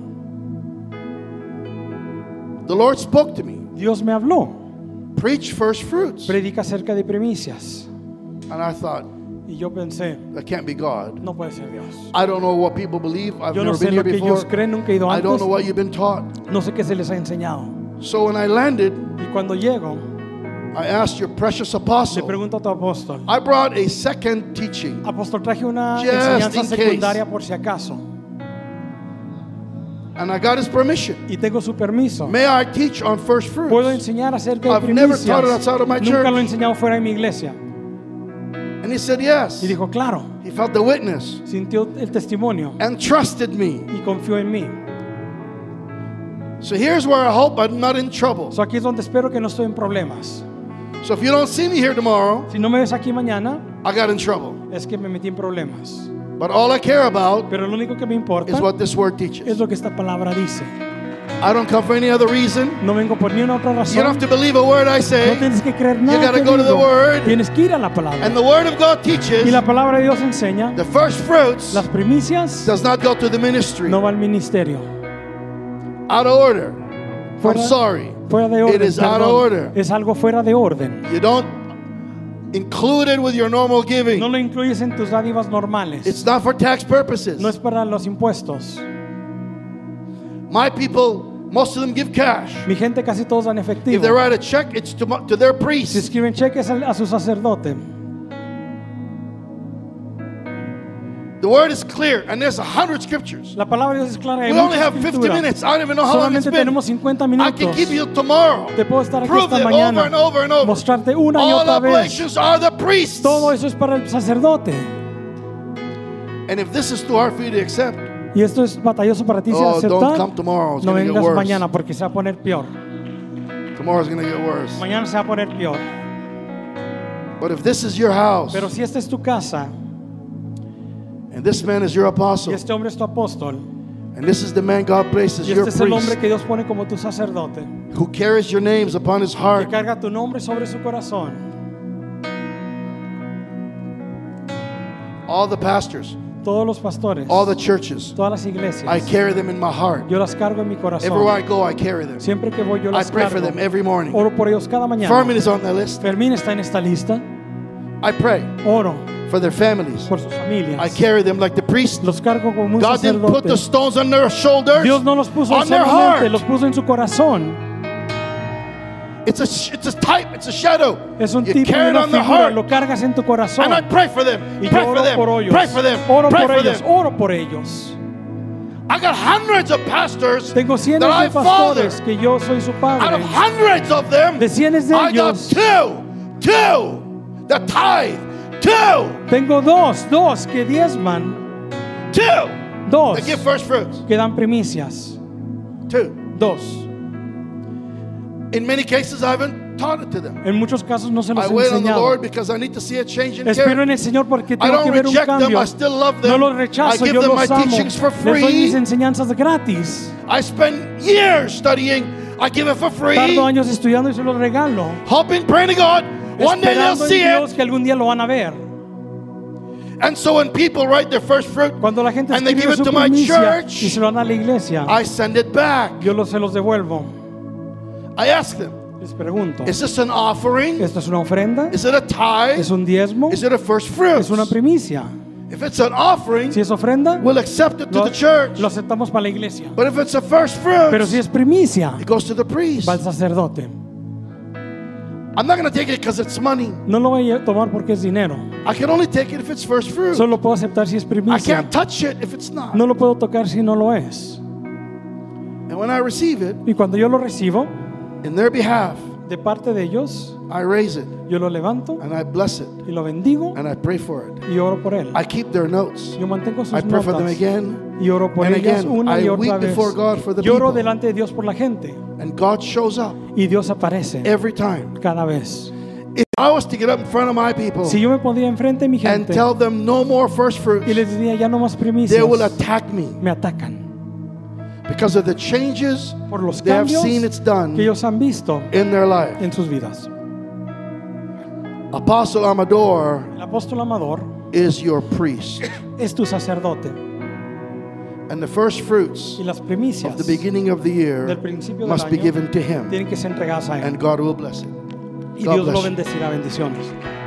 the Lord spoke to me. Dios me habló. Preach first fruits. Predica acerca de primicias. And I thought, Y yo pensé, that can't be God. no puede ser Dios. I don't know what people believe. I've Yo no never sé been lo here que ellos before. creen, nunca he ido I don't antes. know what you've been taught. No sé qué se les ha enseñado. So when I landed, Y cuando llego, I asked your precious le apostle. pregunto a tu apóstol. I brought a second teaching. Apóstol, traje una Just enseñanza in case. secundaria por si acaso. And I got his permission. y tengo su permiso. May I teach on first fruits? Puedo enseñar acerca de I've never taught it primicias. outside of my Nunca church. lo he enseñado fuera de mi iglesia. And he said yes. Y dijo, claro, He felt the witness sintió el testimonio and trusted me. y confió en mí. So here's where I hope I'm not in trouble. So aquí es donde espero que no estoy en problemas. So if you don't see me here tomorrow, Si no me ves aquí mañana, I got in trouble. es que me metí en problemas. But all I care about Pero lo único que me importa is what this word es teaches. lo que esta palabra dice. I don't come for any other reason. No vengo por ni una otra You don't razón. have to believe a word I No say. tienes que creer You nada gotta que go to the digo. Word. Tienes que ir a la palabra. And the word of God Y teaches la palabra de Dios enseña, the first fruits las primicias does not go to the ministry. no va al ministerio. Out of order. I'm Fuera, sorry. fuera de It orden. is out of perdón. order. Es algo fuera de orden. You don't include it with your normal giving. No lo incluyes en tus dádivas normales. It's not for tax purposes. No es para los impuestos. My people, most of them give cash. Mi gente casi todos dan If efectivo. they write a check, it's to, to their Si priest. escriben cheques al- a su sacerdote. The word is clear, and there's a hundred scriptures. La palabra de Dios es clara. Hay We only mucha have fifty escritura. minutes. I don't even know how long it's Solamente been. tenemos cincuenta I minutos. can give you tomorrow. Te puedo estar aquí Prove esta it over mañana. and over and over. Mostrarte una y All otra vez. oblations are the priests. Todo eso es para el sacerdote. And if this is too hard for you to accept, Y esto es batalloso para ti si oh, don't aceptar. come tomorrow. It's No going to get vengas worse. mañana porque se va a poner peor. Tomorrow's going to get worse. Mañana se va a poner peor. But if this is your house, Pero si esta es tu casa and this man is your y apostle, este hombre es tu apóstol and this is the man God places y your este es el hombre priest, que Dios pone como tu sacerdote, who carries your names upon his que heart, carga tu nombre sobre su corazón. all the pastors, Todos los pastores, all the churches, todas las iglesias, I carry them in my heart. yo las cargo en mi corazón. Everywhere I go, I carry them. Siempre que voy yo I las pray for cargo. them every morning. Oro por ellos cada mañana. Fermin is on the list. Fermín está en esta lista. I pray Oro for their families. por sus familias. I carry them like the priest. Los cargo como un God didn't put sacerdote. the stones on their shoulders. Dios no los puso on their solamente, heart. los puso en su corazón. It's a sh- it's a type. It's a shadow. Es un You tipo carry de it una on their figura, heart. lo cargas en tu corazón. And I pray for them. Y Pray yo for oro them. por ellos. Pray for them. Oro Pray por for ellos. them. Oro por ellos. I got hundreds of pastors Tengo cientos that I de pastores father. que yo soy su Out padre. of hundreds of them, De cienes de I got ellos, two, two, the tithe, two, tengo dos, dos que diezman, two. dos They give first fruits. que dan primicias, Two. dos. In many cases, I haven't taught it to them. En muchos casos no se los I he wait on the enseñado. Lord because I need to see a change in Espero character. en el Señor porque I tengo que don't ver un reject them. cambio. I still love No them. los I rechazo, give yo them my los amo. teachings for Les doy free. mis enseñanzas gratis. I spend years studying. I give it for free. Tardo años estudiando y se los regalo. Hoping, praying to God, one day they'll Esperando en see Dios it. que algún día lo van a ver. And so when people write their first fruit Cuando la gente and they give escribe it su to my primicia church, y se lo dan a la iglesia, I send it back. yo los, se los devuelvo. I ask them, Les pregunto, is this an offering? ¿esto es una ofrenda? Is it a tithe? ¿Es un diezmo? Is it a first fruit? ¿Es una primicia? If it's an offering, Si es ofrenda, we'll accept it to lo, the church. lo aceptamos para la iglesia. But if it's a first fruit, Pero si es primicia, it goes to the priest. va al sacerdote. I'm not going to take it because it's money. No lo voy a tomar porque es dinero. I can only take it if it's first fruit. Solo puedo aceptar si es I primicia. can't touch it if it's not. No lo puedo tocar si no lo es. And when I receive it, Y cuando yo lo recibo in their behalf, de parte de ellos, I raise it yo lo levanto and I bless it y lo bendigo and I pray for it. y oro por él. I keep their notes. Yo mantengo sus I pray for them notas again. y oro por and ellas again. una I y weep otra vez. before God for the Lloro people. delante de Dios por la gente And God shows up y Dios aparece every time. cada vez. If I was to get up in front of my people Si yo me pondría enfrente de mi and gente tell them no more first fruits, y les diría ya no más they primicias, will attack me me atacan because of the changes por los they have cambios seen it's done que ellos han visto in their life. en sus vidas. Apostle Amador El apóstol Amador is your priest. es tu sacerdote And the first fruits y las of primicias the beginning of the year del principio del must be año given to him. tienen que ser entregadas a él And God will bless it. y God Dios lo bless you. bendecirá. Bendiciones.